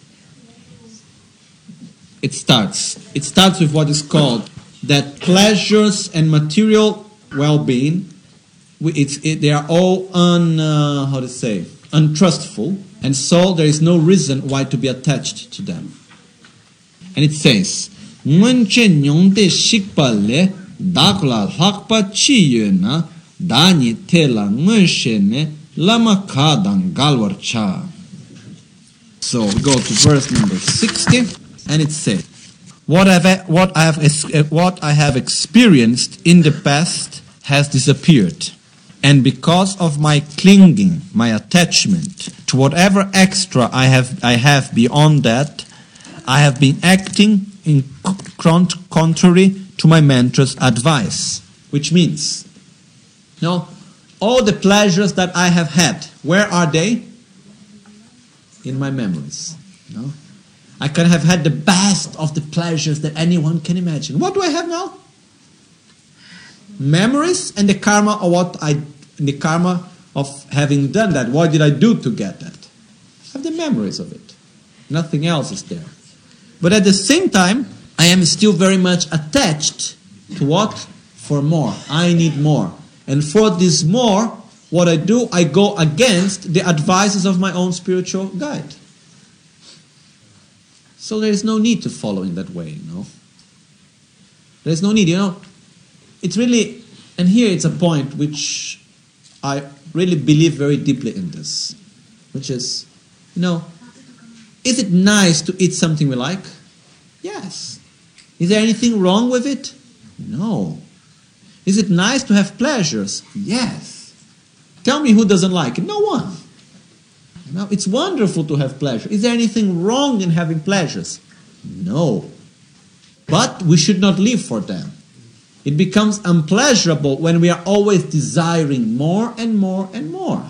B: it starts. It starts with what is called that pleasures and material well-being, it's, it, they are all un, uh, how to say, untrustful, and so there is no reason why to be attached to them.
A: And it says, "Ngunche nyongde shikpale dakla hakpa chiyena dani tela ngunshene lama kadang galwarcha." So we go to verse number sixty,
B: and it says, "What I've, what I have, what I have experienced in the past has disappeared, and because of my clinging, my attachment to whatever extra I have, I have beyond that, I have been acting in contrary to my mentor's advice." Which means, you know, all the pleasures that I have had, where are they? In my memories. No? I can have had the best of the pleasures that anyone can imagine. What do I have now? Memories and the karma of what I, the karma of having done that. What did I do to get that? I have the memories of it. Nothing else is there. But at the same time, I am still very much attached to what? For more. I need more. And for this more, what I do, I go against the advices of my own spiritual guide. So there is no need to follow in that way, you know. There is no need, you know. It's really, and here it's a point which I really believe very deeply in this, which is, you know, is it nice to eat something we like? Yes. Is there anything wrong with it? No. Is it nice to have pleasures? Yes. Tell me who doesn't like it. No one. Now, it's wonderful to have pleasure. Is there anything wrong in having pleasures? No. But we should not live for them. It becomes unpleasurable when we are always desiring more and more and more.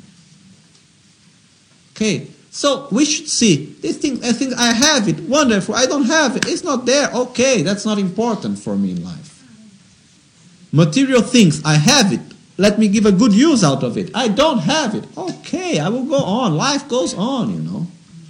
B: Okay, so we should see, this thing, I think I have it, wonderful, I don't have it, it's not there, okay, that's not important for me in life. Material things, I have it, let me give a good use out of it. I don't have it. Okay, I will go on. Life goes on, you know.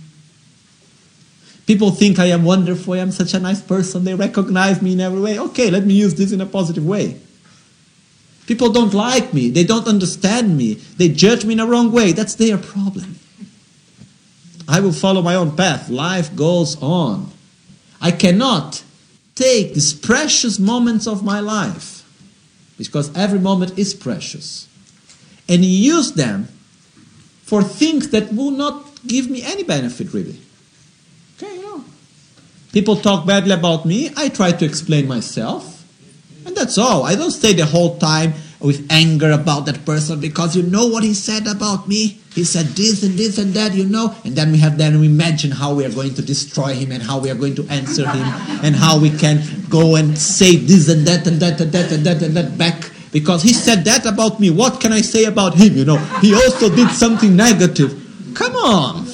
B: People think I am wonderful. I am such a nice person. They recognize me in every way. Okay, let me use this in a positive way. People don't like me. They don't understand me. They judge me in a wrong way. That's their problem. I will follow my own path. Life goes on. I cannot take these precious moments of my life, because every moment is precious, and use them for things that will not give me any benefit, really. Okay, you know. People talk badly about me, I try to explain myself, and that's all. I don't stay the whole time with anger about that person because you know what he said about me. He said this and this and that, you know, and then we have then we imagine how we are going to destroy him and how we are going to answer him and how we can go and say this and that and that and that and that and that back because he said that about me. What can I say about him? You know, he also did something negative. Come on,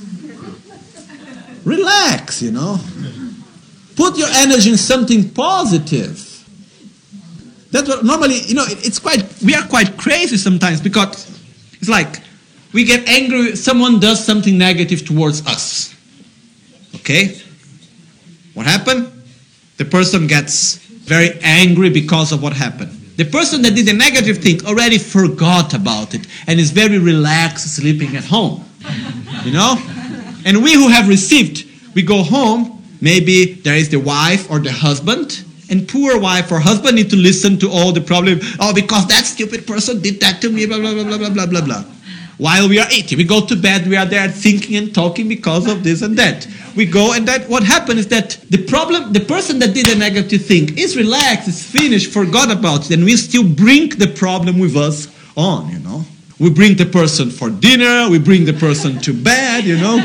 B: relax. You know, put your energy in something positive. That's what normally, you know, it, it's quite, we are quite crazy sometimes because it's like we get angry, someone does something negative towards us. Okay? What happened? The person gets very angry because of what happened. The person that did the negative thing already forgot about it and is very relaxed, sleeping at home. You know? And we who have received, we go home, maybe there is the wife or the husband, and poor wife or husband need to listen to all the problem. Oh, because that stupid person did that to me, blah, blah, blah, blah, blah, blah, blah. while we are eating. We go to bed, we are there thinking and talking because of this and that. We go, and that what happened is that the problem, the person that did a negative thing is relaxed, is finished, forgot about it, and we still bring the problem with us on, you know. We bring the person for dinner, we bring the person to bed, you know.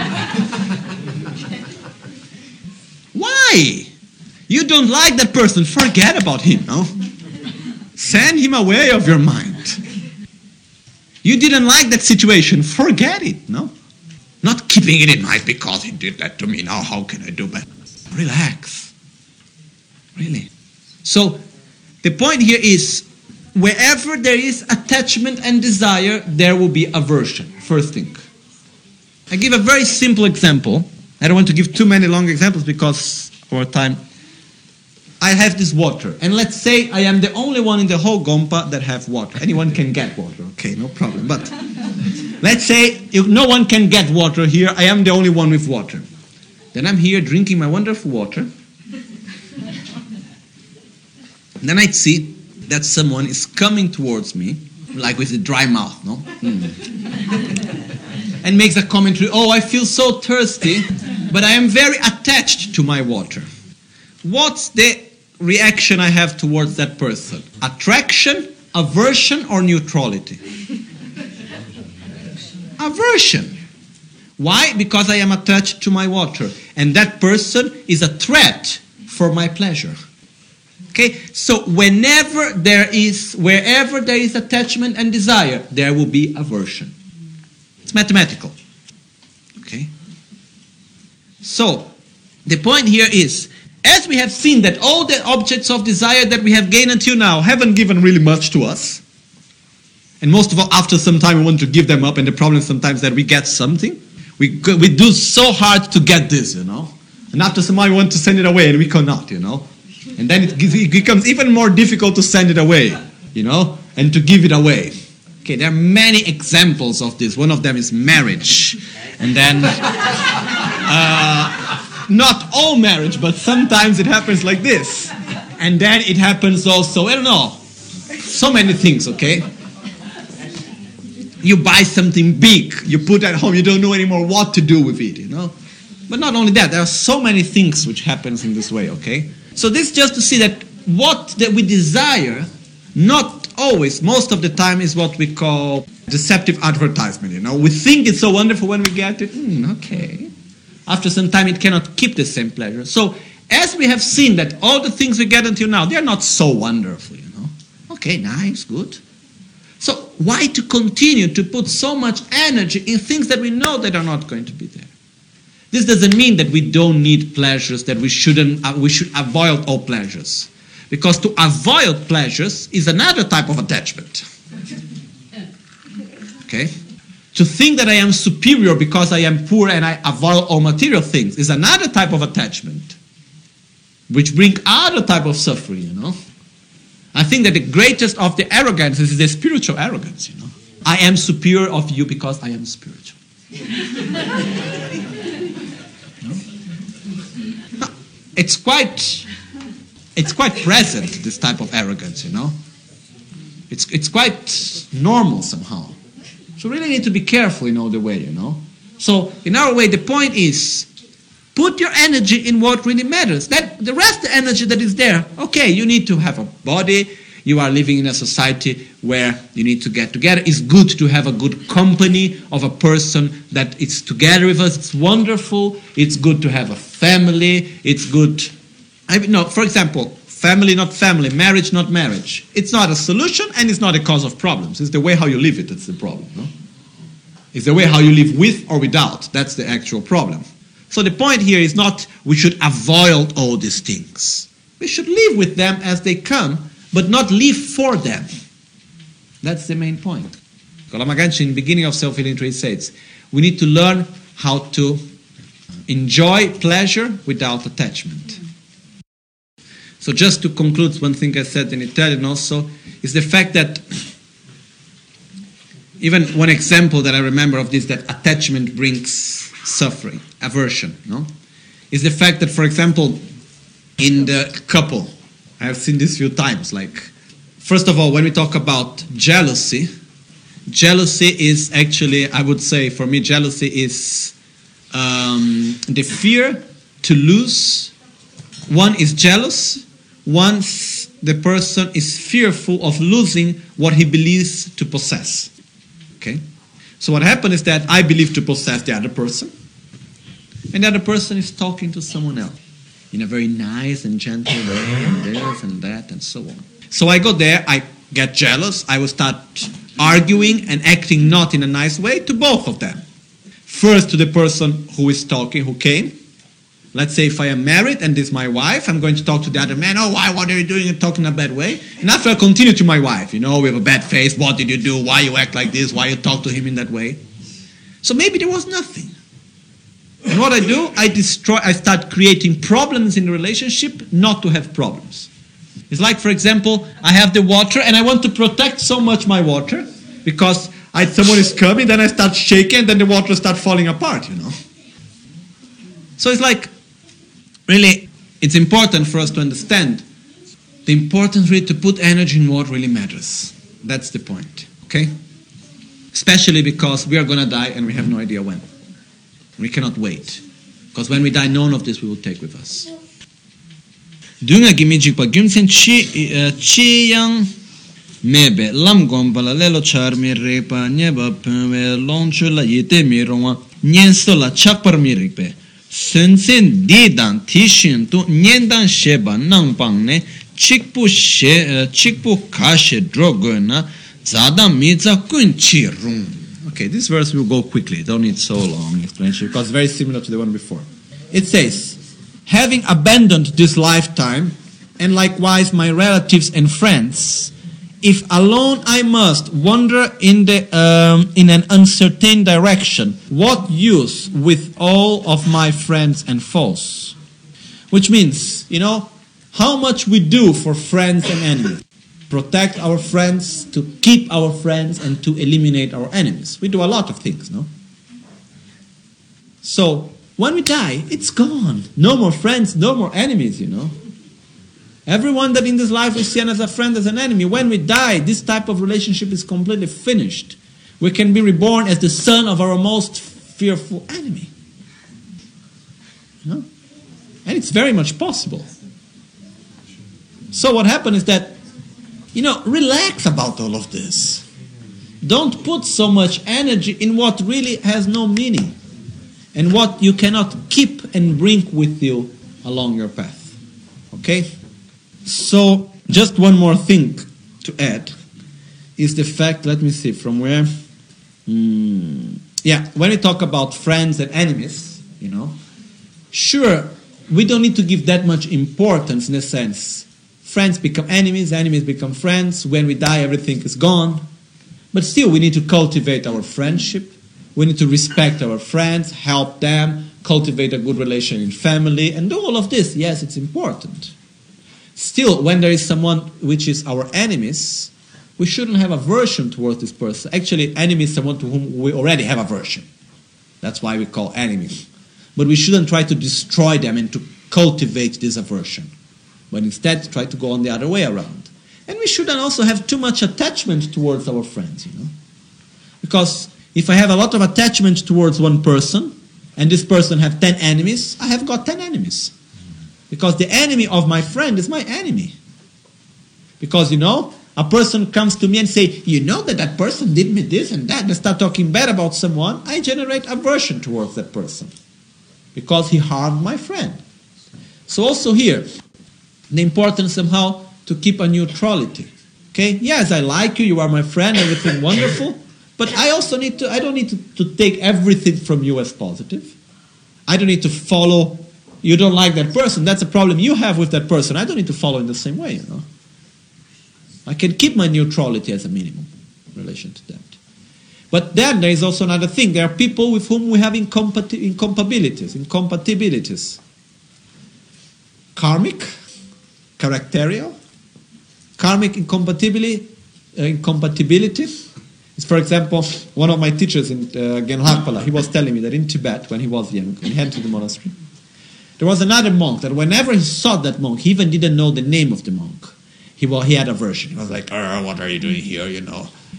B: Why? You don't like that person, forget about him, no? Send him away of your mind. You didn't like that situation, forget it, no? Not keeping it in mind because he did that to me, now how can I do better? Relax. Really. So, the point here is, wherever there is attachment and desire, there will be aversion, first thing. I give a very simple example. I don't want to give too many long examples because of our time. I have this water, and let's say I am the only one in the whole Gompa that have water. Anyone can get water, okay, no problem. But let's say if no one can get water here, I am the only one with water. Then I'm here drinking my wonderful water. And then I see that someone is coming towards me, like with a dry mouth, no? Mm. And makes a commentary, oh, I feel so thirsty, but I am very attached to my water. What's the reaction I have towards that person? Attraction, aversion, or neutrality? Aversion. Why? Because I am attached to my water. And that person is a threat for my pleasure. Okay? So whenever there is, wherever there is attachment and desire, there will be aversion. It's mathematical. Okay? So, the point here is, as we have seen that all the objects of desire that we have gained until now haven't given really much to us, and most of all, after some time we want to give them up, and the problem is sometimes that we get something, we, we do so hard to get this, you know, and after some time we want to send it away and we cannot, you know, and then it, it becomes even more difficult to send it away, you know, and to give it away. Okay, there are many examples of this. One of them is marriage, and then uh, not all marriage, but sometimes it happens like this. And then it happens also, I don't know, so many things, okay? You buy something big, you put at home, you don't know anymore what to do with it, you know? But not only that, there are so many things which happens in this way, okay? So this just to see that what that we desire, not always, most of the time, is what we call deceptive advertisement, you know? We think it's so wonderful when we get it, mm, okay. After some time, it cannot keep the same pleasure. So, as we have seen that all the things we get until now, they are not so wonderful, you know. Okay, nice, good. So, why to continue to put so much energy in things that we know that are not going to be there? This doesn't mean that we don't need pleasures, that we shouldn't, uh, we should avoid all pleasures. Because to avoid pleasures is another type of attachment. Okay? To think that I am superior because I am poor and I avoid all material things is another type of attachment, which brings other type of suffering, you know. I think that the greatest of the arrogance is the spiritual arrogance, you know. I am superior of you because I am spiritual. No? No, it's quite, it's quite present, this type of arrogance, you know. It's it's quite normal somehow. So really need to be careful in all the way, you know. So in our way, the point is, put your energy in what really matters. That the rest of the energy that is there, okay, you need to have a body. You are living in a society where you need to get together. It's good to have a good company of a person that is together with us. It's wonderful. It's good to have a family. It's good. I mean, no, for example, family, not family, marriage, not marriage. It's not a solution and it's not a cause of problems. It's the way how you live it that's the problem. No? It's the way how you live with or without. That's the actual problem. So the point here is not we should avoid all these things. We should live with them as they come, but not live for them. That's the main point. Lama Ganchen, in the beginning of Self-Healing Trade, says, we need to learn how to enjoy pleasure without attachment. So just to conclude, one thing I said in Italian also, is the fact that, even one example that I remember of this, that attachment brings suffering, aversion, no? Is the fact that, for example, in the couple, I have seen this few times, like, first of all, when we talk about jealousy,
A: jealousy is actually, I would say, for me, jealousy is um, the fear to lose. One is jealous once the person is fearful of losing what he believes to possess. Okay? So what happened is that I believe to possess the other person, and the other person is talking to someone else in a very nice and gentle way, and this and that and so on. So I go there, I get jealous, I will start arguing and acting not in a nice way to both of them. First to the person who is talking, who came. Let's say if I am married and this is my wife, I'm going to talk to the other man, oh, why, what are you doing, and talking in a bad way. And after I continue to my wife, you know, we have a bad face, what did you do, why you act like this, why you talk to him in that way. So maybe there was nothing. And what I do, I destroy, I start creating problems in the relationship not to have problems. It's like, for example, I have the water and I want to protect so much my water because I, someone is coming, then I start shaking, and then the water starts falling apart, you know. So it's like, really, it's important for us to understand the importance really to put energy in what really matters. That's the point, okay? Especially because we are going to die and we have no idea when. We cannot wait. Because when we die, none of this we will take with us. Dunga gimijikpa gimsen chi yang mebe lam gombala lelo charmi repa nyeba pwe lonchula yete mirongwa nyensto la chakpar mirikpe. Sensen didan tishin tu nyendan sheba nangpangne chikpu she chikpu kashe drogona zada miza kunchi rung. Okay, this verse will go quickly. Don't need so long explanation because it's very similar to the one before. It says, having abandoned this lifetime and likewise my relatives and friends, if alone I must wander in the um, in an uncertain direction, what use with all of my friends and foes? Which means, you know, how much we do for friends and enemies. Protect our friends, to keep our friends, and to eliminate our enemies. We do a lot of things, no? So, when we die, it's gone. No more friends, no more enemies, you know. Everyone that in this life is seen as a friend, as an enemy. When we die, this type of relationship is completely finished. We can be reborn as the son of our most fearful enemy. You know? And it's very much possible. So what happened is that, you know, relax about all of this. Don't put so much energy in what really has no meaning and what you cannot keep and bring with you along your path. Okay? So, just one more thing to add is the fact, let me see, from where? Mm, yeah, when we talk about friends and enemies, you know, sure, we don't need to give that much importance in a sense. Friends become enemies, enemies become friends. When we die, everything is gone. But still, we need to cultivate our friendship. We need to respect our friends, help them, cultivate a good relation in family, and do all of this. Yes, it's important. Still, when there is someone which is our enemies, we shouldn't have aversion towards this person. Actually, enemy is someone to whom we already have aversion. That's why we call enemies. But we shouldn't try to destroy them and to cultivate this aversion. But instead, try to go on the other way around. And we shouldn't also have too much attachment towards our friends, you know. Because if I have a lot of attachment towards one person, and this person have ten enemies, I have got ten enemies. Because the enemy of my friend is my enemy. Because, you know, a person comes to me and say, you know that that person did me this and that, and start talking bad about someone, I generate aversion towards that person. Because he harmed my friend. So also here, the importance somehow to keep a neutrality. Okay? Yes, I like you, you are my friend, everything wonderful. But I also need to, I don't need to, to take everything from you as positive. I don't need to follow, you don't like that person, that's a problem you have with that person. I don't need to follow in the same way, you know. I can keep my neutrality as a minimum in relation to that. But then there is also another thing. There are people with whom we have incompati- incompatibilities, incompatibilities. Karmic, characterial, karmic incompatibility, uh, incompatibility. Is, for example, one of my teachers in uh, Genghakpala, he was telling me that in Tibet, when he was young, when he went to the monastery, there was another monk that whenever he saw that monk, he even didn't know the name of the monk. He, well, he had aversion. He was like, oh, what are you doing here, you know?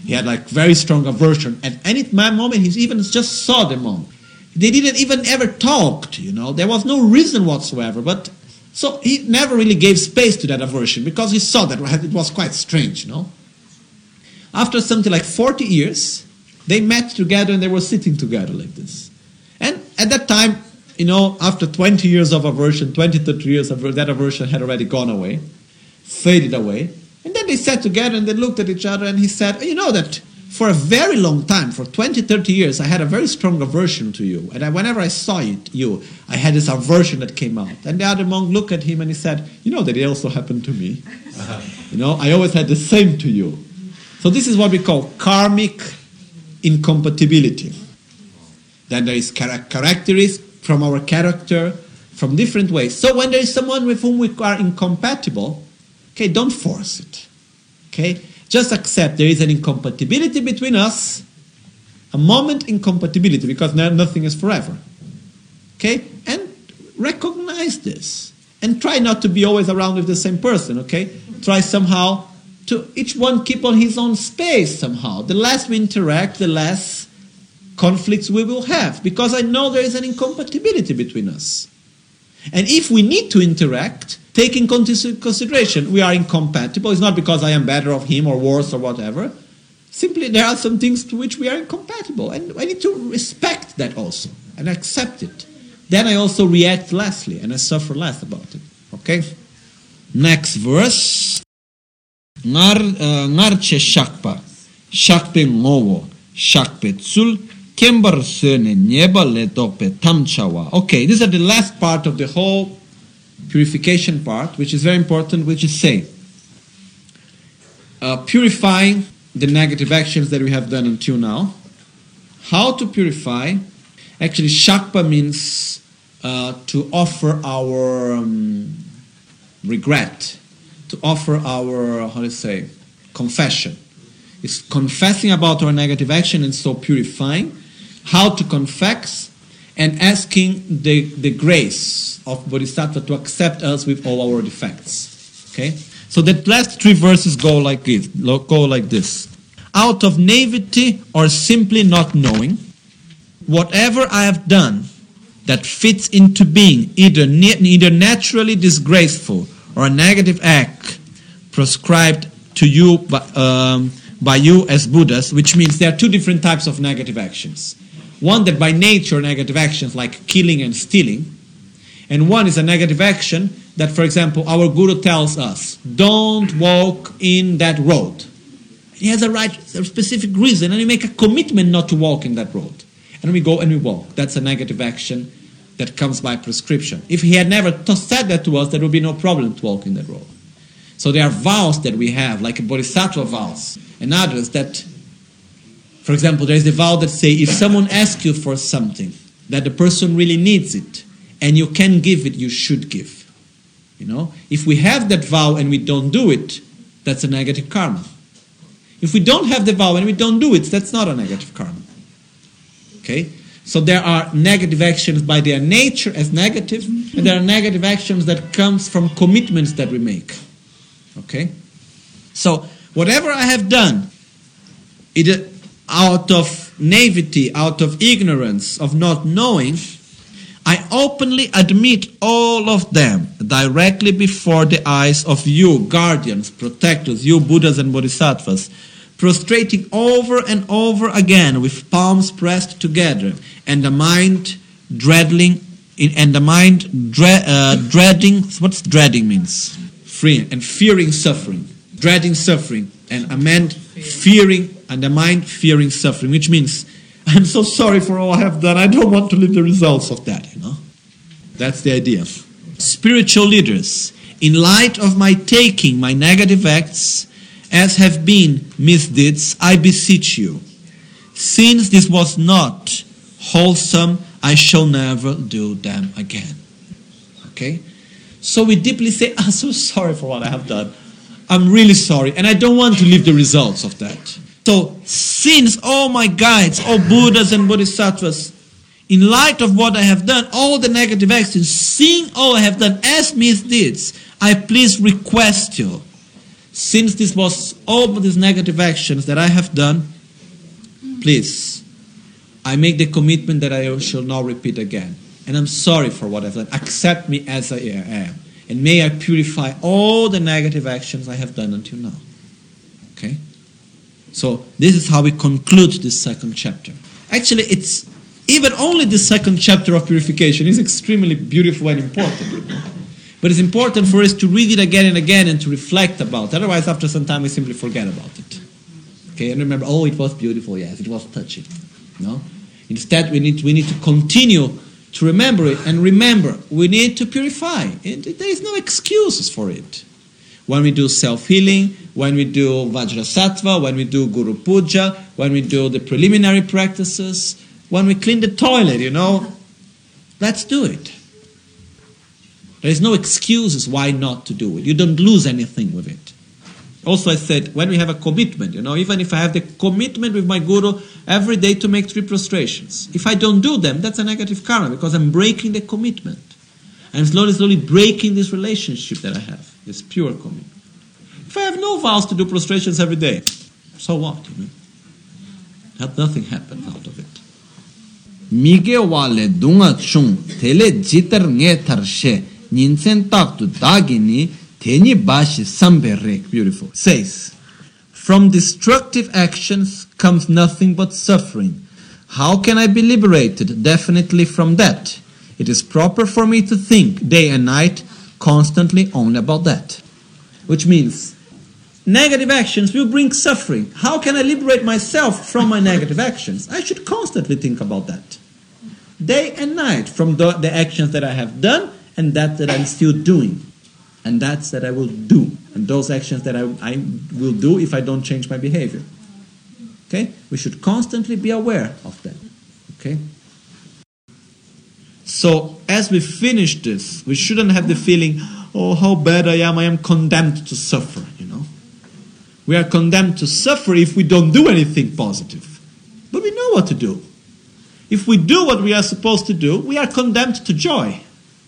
B: He had like very strong aversion. At any moment, he even just saw the monk. They didn't even ever talk, you know. There was no reason whatsoever. But so he never really gave space to that aversion because he saw that it was quite strange, you know. After something like forty years, they met together and they were sitting together like this. And at that time, you know, after twenty years of aversion, twenty, thirty years of that aversion had already gone away, faded away. And then they sat together and they looked at each other and he said, you know that for a very long time, for twenty, thirty years, I had a very strong aversion to you. And I, whenever I saw it, you, I had this aversion that came out. And the other monk looked at him and he said, you know that it also happened to me. Uh-huh. You know, I always had the same to you. So this is what we call karmic incompatibility. Then there is char- characteristics from our character, from different ways. So when there is someone with whom we are incompatible, okay, don't force it. Okay? Just accept there is an incompatibility between us, a moment incompatibility, because nothing is forever. Okay? And recognize this. And try not to be always around with the same person, okay? Try somehow to each one keep on his own space somehow. The less we interact, the less conflicts we will have, because I know there is an incompatibility between us. And if we need to interact, take in consideration we are incompatible. It's not because I am better of him or worse or whatever. Simply there are some things to which we are incompatible, and I need to respect that also and accept it. Then I also react lessly and I suffer less about it. Okay? Next verse. Ngarche shakpa, shakpe ngowo, shakpe tsul, kembar sene nyeba le dope tamchawa. Okay, these are the last part of the whole purification part, which is very important, which is say, uh, purifying the negative actions that we have done until now. How to purify? Actually, shakpa means uh, to offer our um, regret, to offer our, how to say, confession. It's confessing about our negative action and so purifying. How to confess and asking the, the grace of Bodhisattva to accept us with all our defects. Okay? So the last three verses go like this. Go like this. Out of naivety or simply not knowing, whatever I have done that fits into being either, either naturally disgraceful or a negative act prescribed to you by, um, by you as Buddhas, which means there are two different types of negative actions. One that by nature negative actions like killing and stealing, and one is a negative action that, for example, our Guru tells us, don't walk in that road. He has a right, a specific reason, and we make a commitment not to walk in that road. And we go and we walk. That's a negative action that comes by prescription. If he had never t- said that to us, there would be no problem to walk in that road. So there are vows that we have, like a Bodhisattva vows, and others that, for example, there is the vow that say, if someone asks you for something, that the person really needs it, and you can give it, you should give. You know? If we have that vow and we don't do it, that's a negative karma. If we don't have the vow and we don't do it, that's not a negative karma. Okay? So there are negative actions by their nature as negative, and there are negative actions that comes from commitments that we make. Okay? So whatever I have done, either out of naivety, out of ignorance, of not knowing, I openly admit all of them directly before the eyes of you, guardians, protectors, you Buddhas and Bodhisattvas, prostrating over and over again with palms pressed together, and the mind dreading, and the mind dre- uh, dreading. What's dreading means? Free and fearing suffering, dreading suffering, and a man fearing, and the mind fearing suffering, which means I'm so sorry for all I have done. I don't want to live the results of that. You know, that's the idea. Spiritual leaders, in light of my taking my negative acts as have been misdeeds, I beseech you, since this was not wholesome, I shall never do them again. Okay? So we deeply say, I'm so sorry for what I have done. I'm really sorry, and I don't want to live the results of that. So, since all my guides, all Buddhas and Bodhisattvas, in light of what I have done, all the negative actions, seeing all I have done as misdeeds, I please request you, since this was all these negative actions that I have done, please, I make the commitment that I shall not repeat again. And I'm sorry for what I've done. Accept me as I am. And may I purify all the negative actions I have done until now. Okay? So this is how we conclude this second chapter. Actually, it's even only the second chapter of purification is extremely beautiful and important. You know? But it's important for us to read it again and again and to reflect about it. Otherwise, after some time, we simply forget about it. Okay, and remember, oh, it was beautiful, yes, it was touching. No? Instead, we need, we need to continue to remember it. And remember, we need to purify. And there is no excuses for it. When we do self-healing, when we do Vajrasattva, when we do Guru Puja, when we do the preliminary practices, when we clean the toilet, you know, let's do it. There is no excuses why not to do it. You don't lose anything with it. Also, I said, when we have a commitment, you know, even if I have the commitment with my Guru every day to make three prostrations, if I don't do them, that's a negative karma because I'm breaking the commitment. I'm slowly, slowly breaking this relationship that I have, this pure commitment. If I have no vows to do prostrations every day, so what, you know? That nothing happens out of it.
C: Mige wale dunga chung tele jitar nge tarshe ninsen taktu dagini teni bashi samberek.
B: Beautiful. Says, from destructive actions comes nothing but suffering. How can I be liberated definitely from that? It is proper for me to think day and night constantly only about that. Which means, negative actions will bring suffering. How can I liberate myself from my negative actions? I should constantly think about that. Day and night, from the, the actions that I have done and that that I'm still doing. And that's that I will do. And those actions that I, I will do if I don't change my behavior. Okay? We should constantly be aware of that. Okay? So, as we finish this, we shouldn't have the feeling, oh, how bad I am, I am condemned to suffer, you know. We are condemned to suffer if we don't do anything positive. But we know what to do. If we do what we are supposed to do, we are condemned to joy.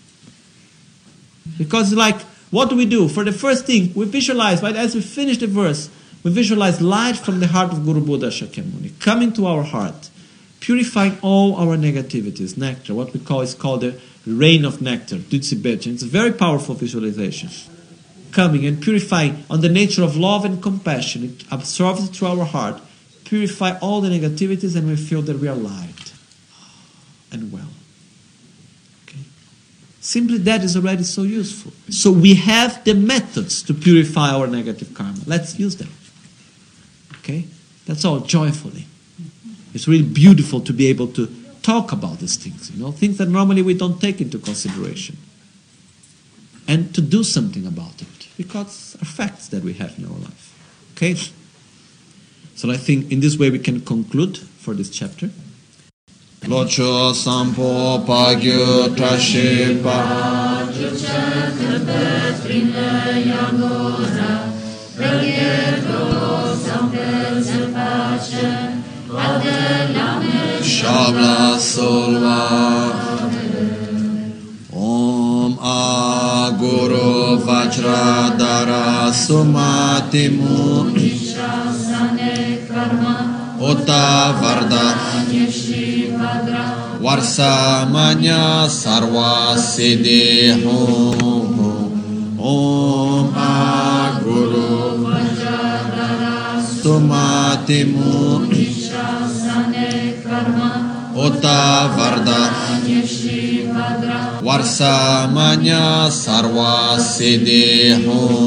B: Because like, what do we do? For the first thing, we visualize, right, as we finish the verse, we visualize light from the heart of Guru Buddha Shakyamuni coming to our heart, purifying all our negativities, nectar, what we call is called the rain of nectar, Dutsibechin. It's a very powerful visualization. Coming and purifying on the nature of love and compassion. It absorbs it through our heart, purify all the negativities, and we feel that we are light and well. Okay? Simply that is already so useful. So we have the methods to purify our negative karma. Let's use them. Okay? That's all, joyfully. It's really beautiful to be able to talk about these things, you know, things that normally we don't take into consideration. And to do something about it, because are facts that we have in our life. Okay? So I think in this way we can conclude for this chapter.
C: Locho sampo pagyo trashipa Shabla solva Om a Guru Vajradhara Sumatimu Ota Varda Varsamanya Sarva Siddhi Om a Guru Vajradhara Sumatimu Ota Varda Varsamanya Sarva Siddhi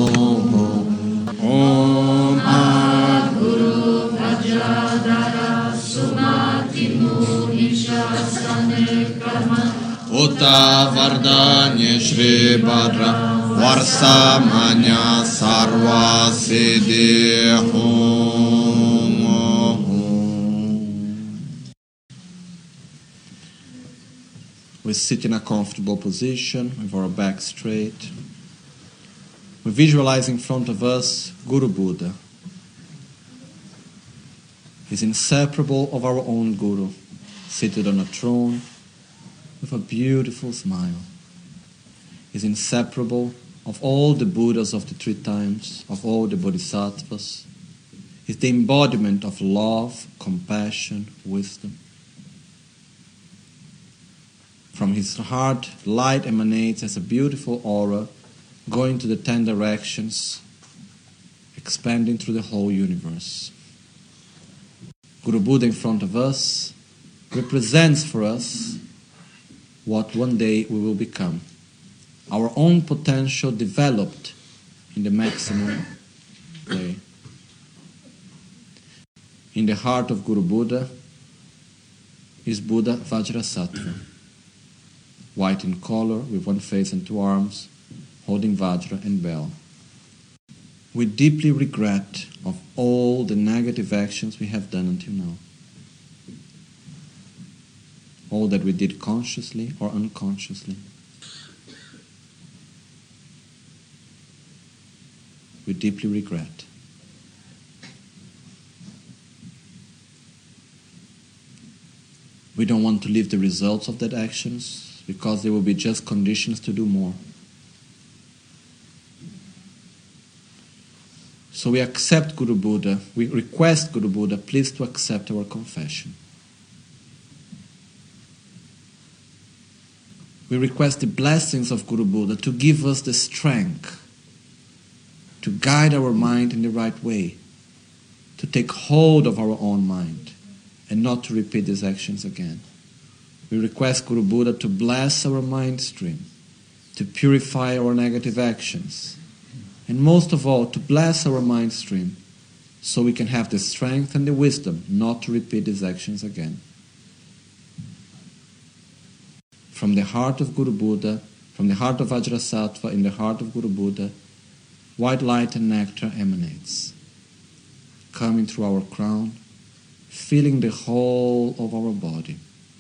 C: Om a
D: Guru Vajradhara Sumatimu Nishasane Karma
C: Ota Varda Nishri Bhadra Varsamanya Sarva Siddhi
B: We sit in a comfortable position with our back straight. We visualize in front of us Guru Buddha. He's inseparable of our own Guru, seated on a throne with a beautiful smile. He's inseparable
C: of all the Buddhas of the three times, of all the Bodhisattvas. Is the embodiment of love, compassion, wisdom. From his heart, light emanates as a beautiful aura, going to the ten directions, expanding through the whole universe. Guru Buddha in front of us represents for us what one day we will become. Our own potential developed in the maximum way. In the heart of Guru Buddha is Buddha Vajrasattva, white in color, with one face and two arms, holding Vajra and bell. We deeply regret of all the negative actions we have done until now. All that we did consciously or unconsciously. We deeply regret. We don't want to live the results of that actions because they will be just conditions to do more. So we accept Guru Buddha, we request Guru Buddha, please to accept our confession. We request the blessings of Guru Buddha to give us the strength to guide our mind in the right way, to take hold of our own mind, and not to repeat these actions again. We request Guru Buddha to bless our mind stream, to purify our negative actions, and most of all, to bless our mind stream so we can have the strength and the wisdom not to repeat these actions again. From the heart of Guru Buddha, from the heart of Vajrasattva, in the heart of Guru Buddha, white light and nectar emanates, coming through our crown, filling the whole of our body.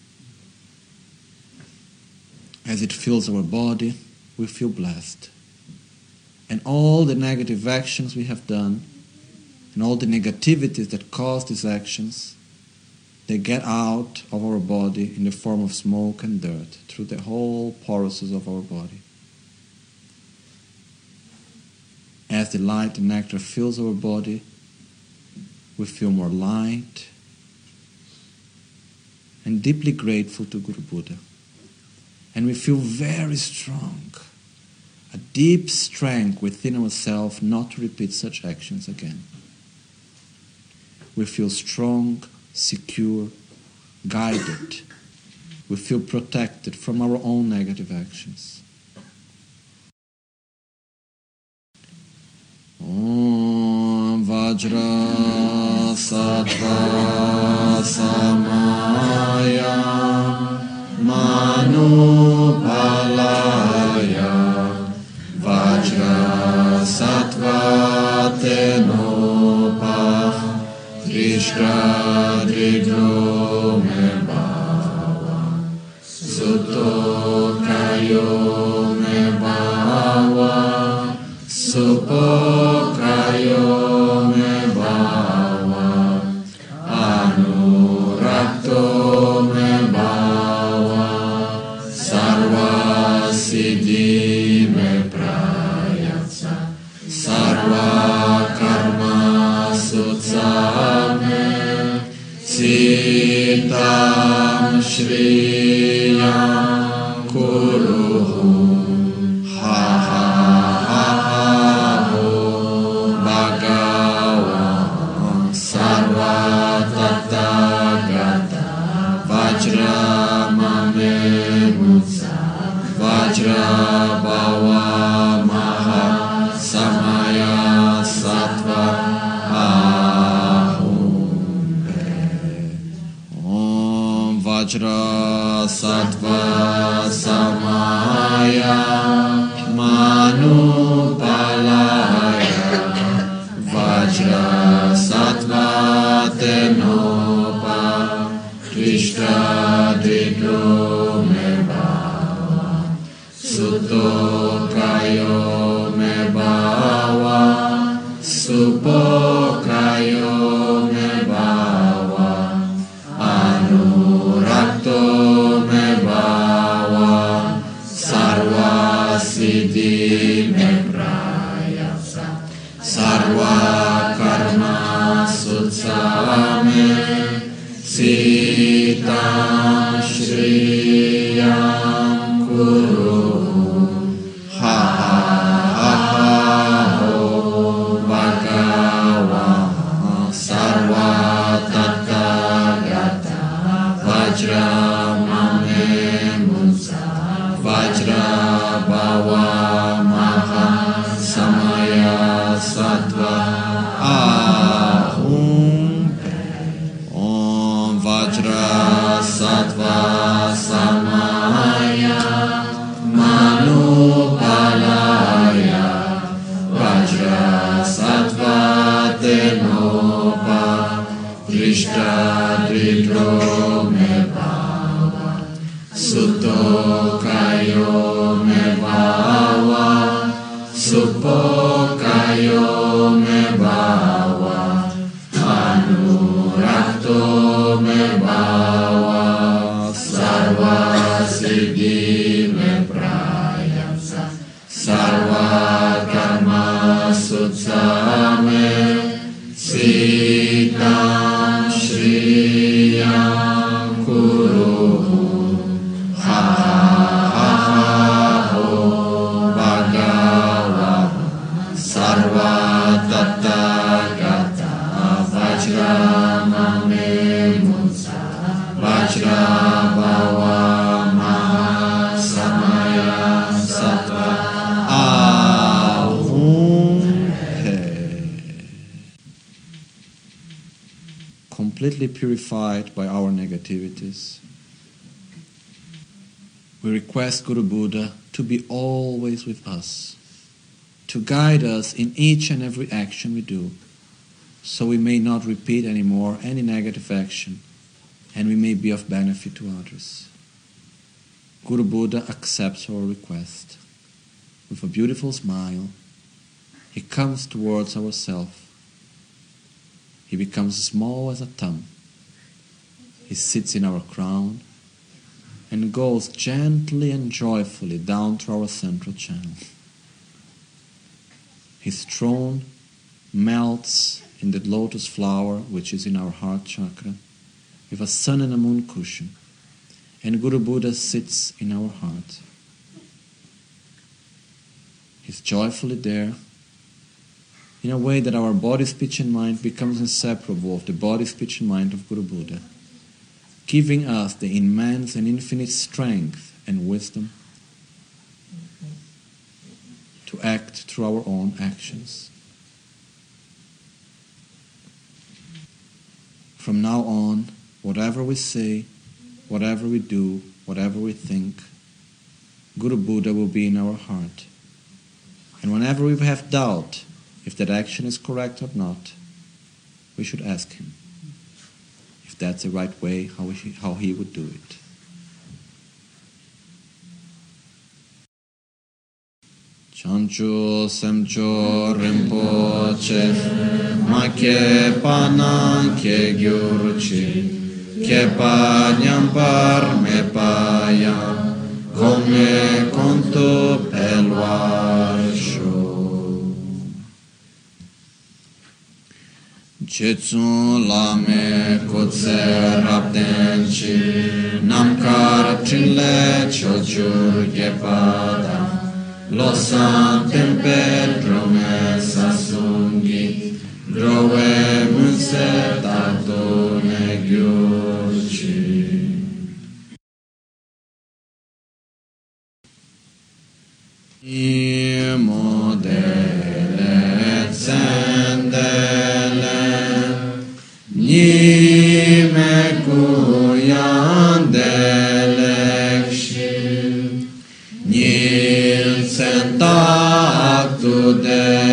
C: As it fills our body, we feel blessed. And all the negative actions we have done, and all the negativities that cause these actions, they get out of our body in the form of smoke and dirt through the whole porousness of our body. As the light and nectar fills our body, we feel more light and deeply grateful to Guru Buddha. And we feel very strong, a deep strength within ourselves not to repeat such actions again. We feel strong, secure, guided. We feel protected from our own negative actions. Om Vajra Sattva Samaya Manu Palaya Vajra Sattva Tenopa Trishra Dridro Mebawa Sutto Kayo Mebawa Supo Kayo Mebawa Anurakto Mebawa Sarva Siddhi Me Prayatsa Sarva Karma Sutsame Sitam Shriyam Kuruhu Ha Ha Ha Ha Ho Bhagavan Sarva Tathagata Vajra Mame Mutsa Vajra Bhava Maha Samaya Sattva Om Vajra Sattva Samaya Manu Palaya Vajra Sattva Tenopa Trishta Didro Mebawa Sutto Kayo Mebawa Supo Kayo Mebawa Anurakto Mebawa Sarva sutsame sitam shriyam kuru ha ha ho bhagava sarva tathagata vajramame munsa vajra bhava maha samaya sattva ahum om vajra sattva samaya manupalaya vajra sattva tenopa drishta dridro me bhava sutto kayo me bhava suppo kayo me bhava anurakto me bhava sarva siddhi me prayamsa sarva karma sutsame sitam shriyam kuru ha ha ho bhagava sarva tathagata vajramame munsa vajra bhava maha samaya sattva ahum he. Completely purified by our negativities, we request Guru Buddha to be always with us, to guide us in each and every action we do, so we may not repeat anymore any negative action, and we may be of benefit to others. Guru Buddha accepts our request. With a beautiful smile, he comes towards ourselves. He becomes small as a thumb. He sits in our crown and goes gently and joyfully down through our central channel. His throne melts in the lotus flower which is in our heart chakra with a sun and a moon cushion, and Guru Buddha sits in our heart. He's joyfully there in a way that our body, speech and mind becomes inseparable of the body, speech and mind of Guru Buddha, giving us the immense and infinite strength and wisdom to act through our own actions. From now on, whatever we say, whatever we do, whatever we think, Guru Buddha will be in our heart. And whenever we have doubt if that action is correct or not, we should ask him if that's the right way, how he, how he would do it. Chancho semcho rinpoche ma ke panan ke gyurchi ke pa nyampar me paya come conto pelvarsho Chetsun lame kutse raptenchi namkar trinle chochur gepada Lo santem promessa sunghi, grove munse tatone gyurci. Imo dele zendele, nime kuyan delekshi, nil sentactu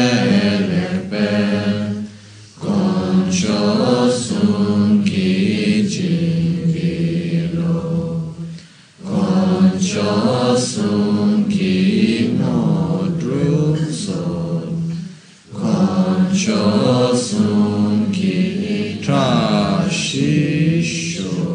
C: delebe, concio sunchi civilo, concio sunchi modruson, concio sunchi trasciscio.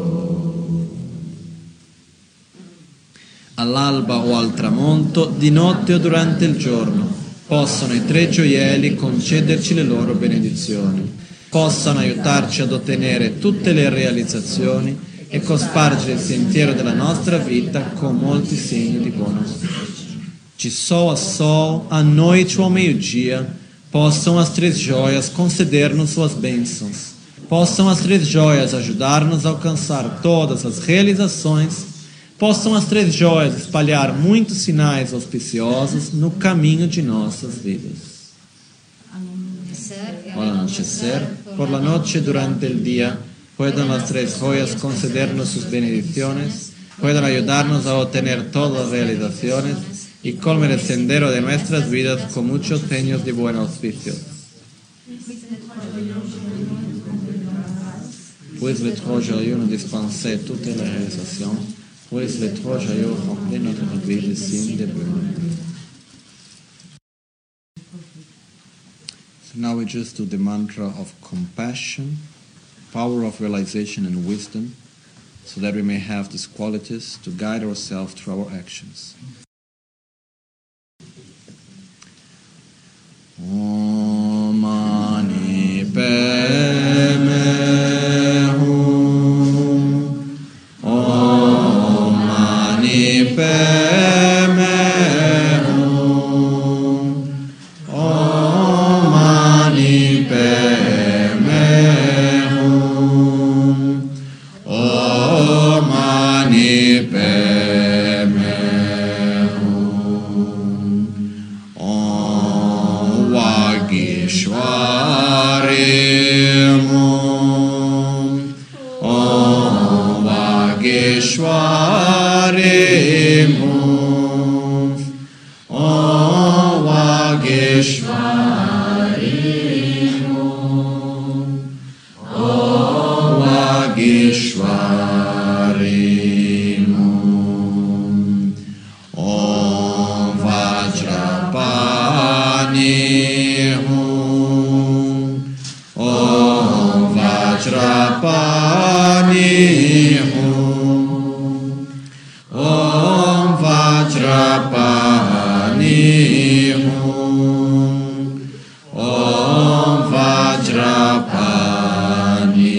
C: All'alba o al tramonto, di notte o durante il giorno, possono i tre gioielli concederci le loro benedizioni. possano aiutarci ad ottenere tutte le realizzazioni e cospargere il sentiero della nostra vita con molti segni di buon auspicio. De sol a sol, à noite ou ao meio-dia, possam as três joias conceder-nos suas bênçãos. Possam as três joias ajudar-nos a alcançar todas as realizações. Possam as três joias espalhar muitos sinais auspiciosos no caminho de nossas vidas. Al anochecer, por la noche, durante el día, puedan las tres joyas concedernos sus bendiciones, puedan ayudarnos a obtener todas las realizaciones y colmar el sendero de nuestras vidas con muchos seños de buen auspicio. Puis le trop joyeux nous dispenser toutes les réalisations, puis le trop joyeux remplit notre vie de signes de bonheur. So now we just do the mantra of compassion, power of realization and wisdom, so that we may have these qualities to guide ourselves through our actions. Om Mani Padme Hum. Om Mani Padme Hum. Om Mani Padme Hum. Om Mani Padme Hum. Om Vagishwari Hum. Om Vagishwari Hum. Om Vagishwari Hum. Om Vagishwari Hum. Om Vajrapani Hum. Om Vajrapani Hum. Om Vajrapani Hum. Om Vajrapani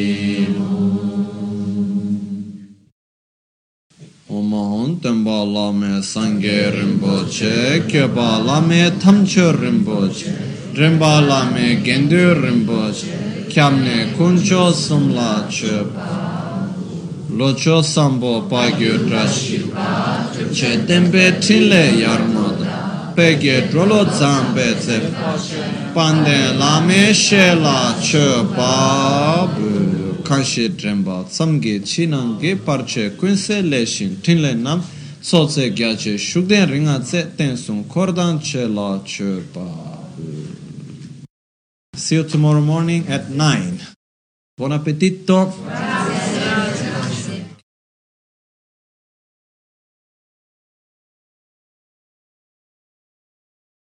C: Hum. Om Tembala me Sangye Rinpoche, Kyobala me Tamcho Rinpoche, Rimbala me Gendu Rinpoche, Kyamne Kuncho Sumla Chepa, Locho Sambo Pagyo Drashi, Che Tempe Tile Yarmoda, Pegye Drolo Zambe Zep, Pande Lame Shela Chepa, Kanshi Dremba, Samge Chinange Parche Kunse Leshin, Tinle Nam, Sotse Gyache Shugden Ringatse Tensum Kordan Chela Chepa. See you tomorrow morning at nine. Buon appetito!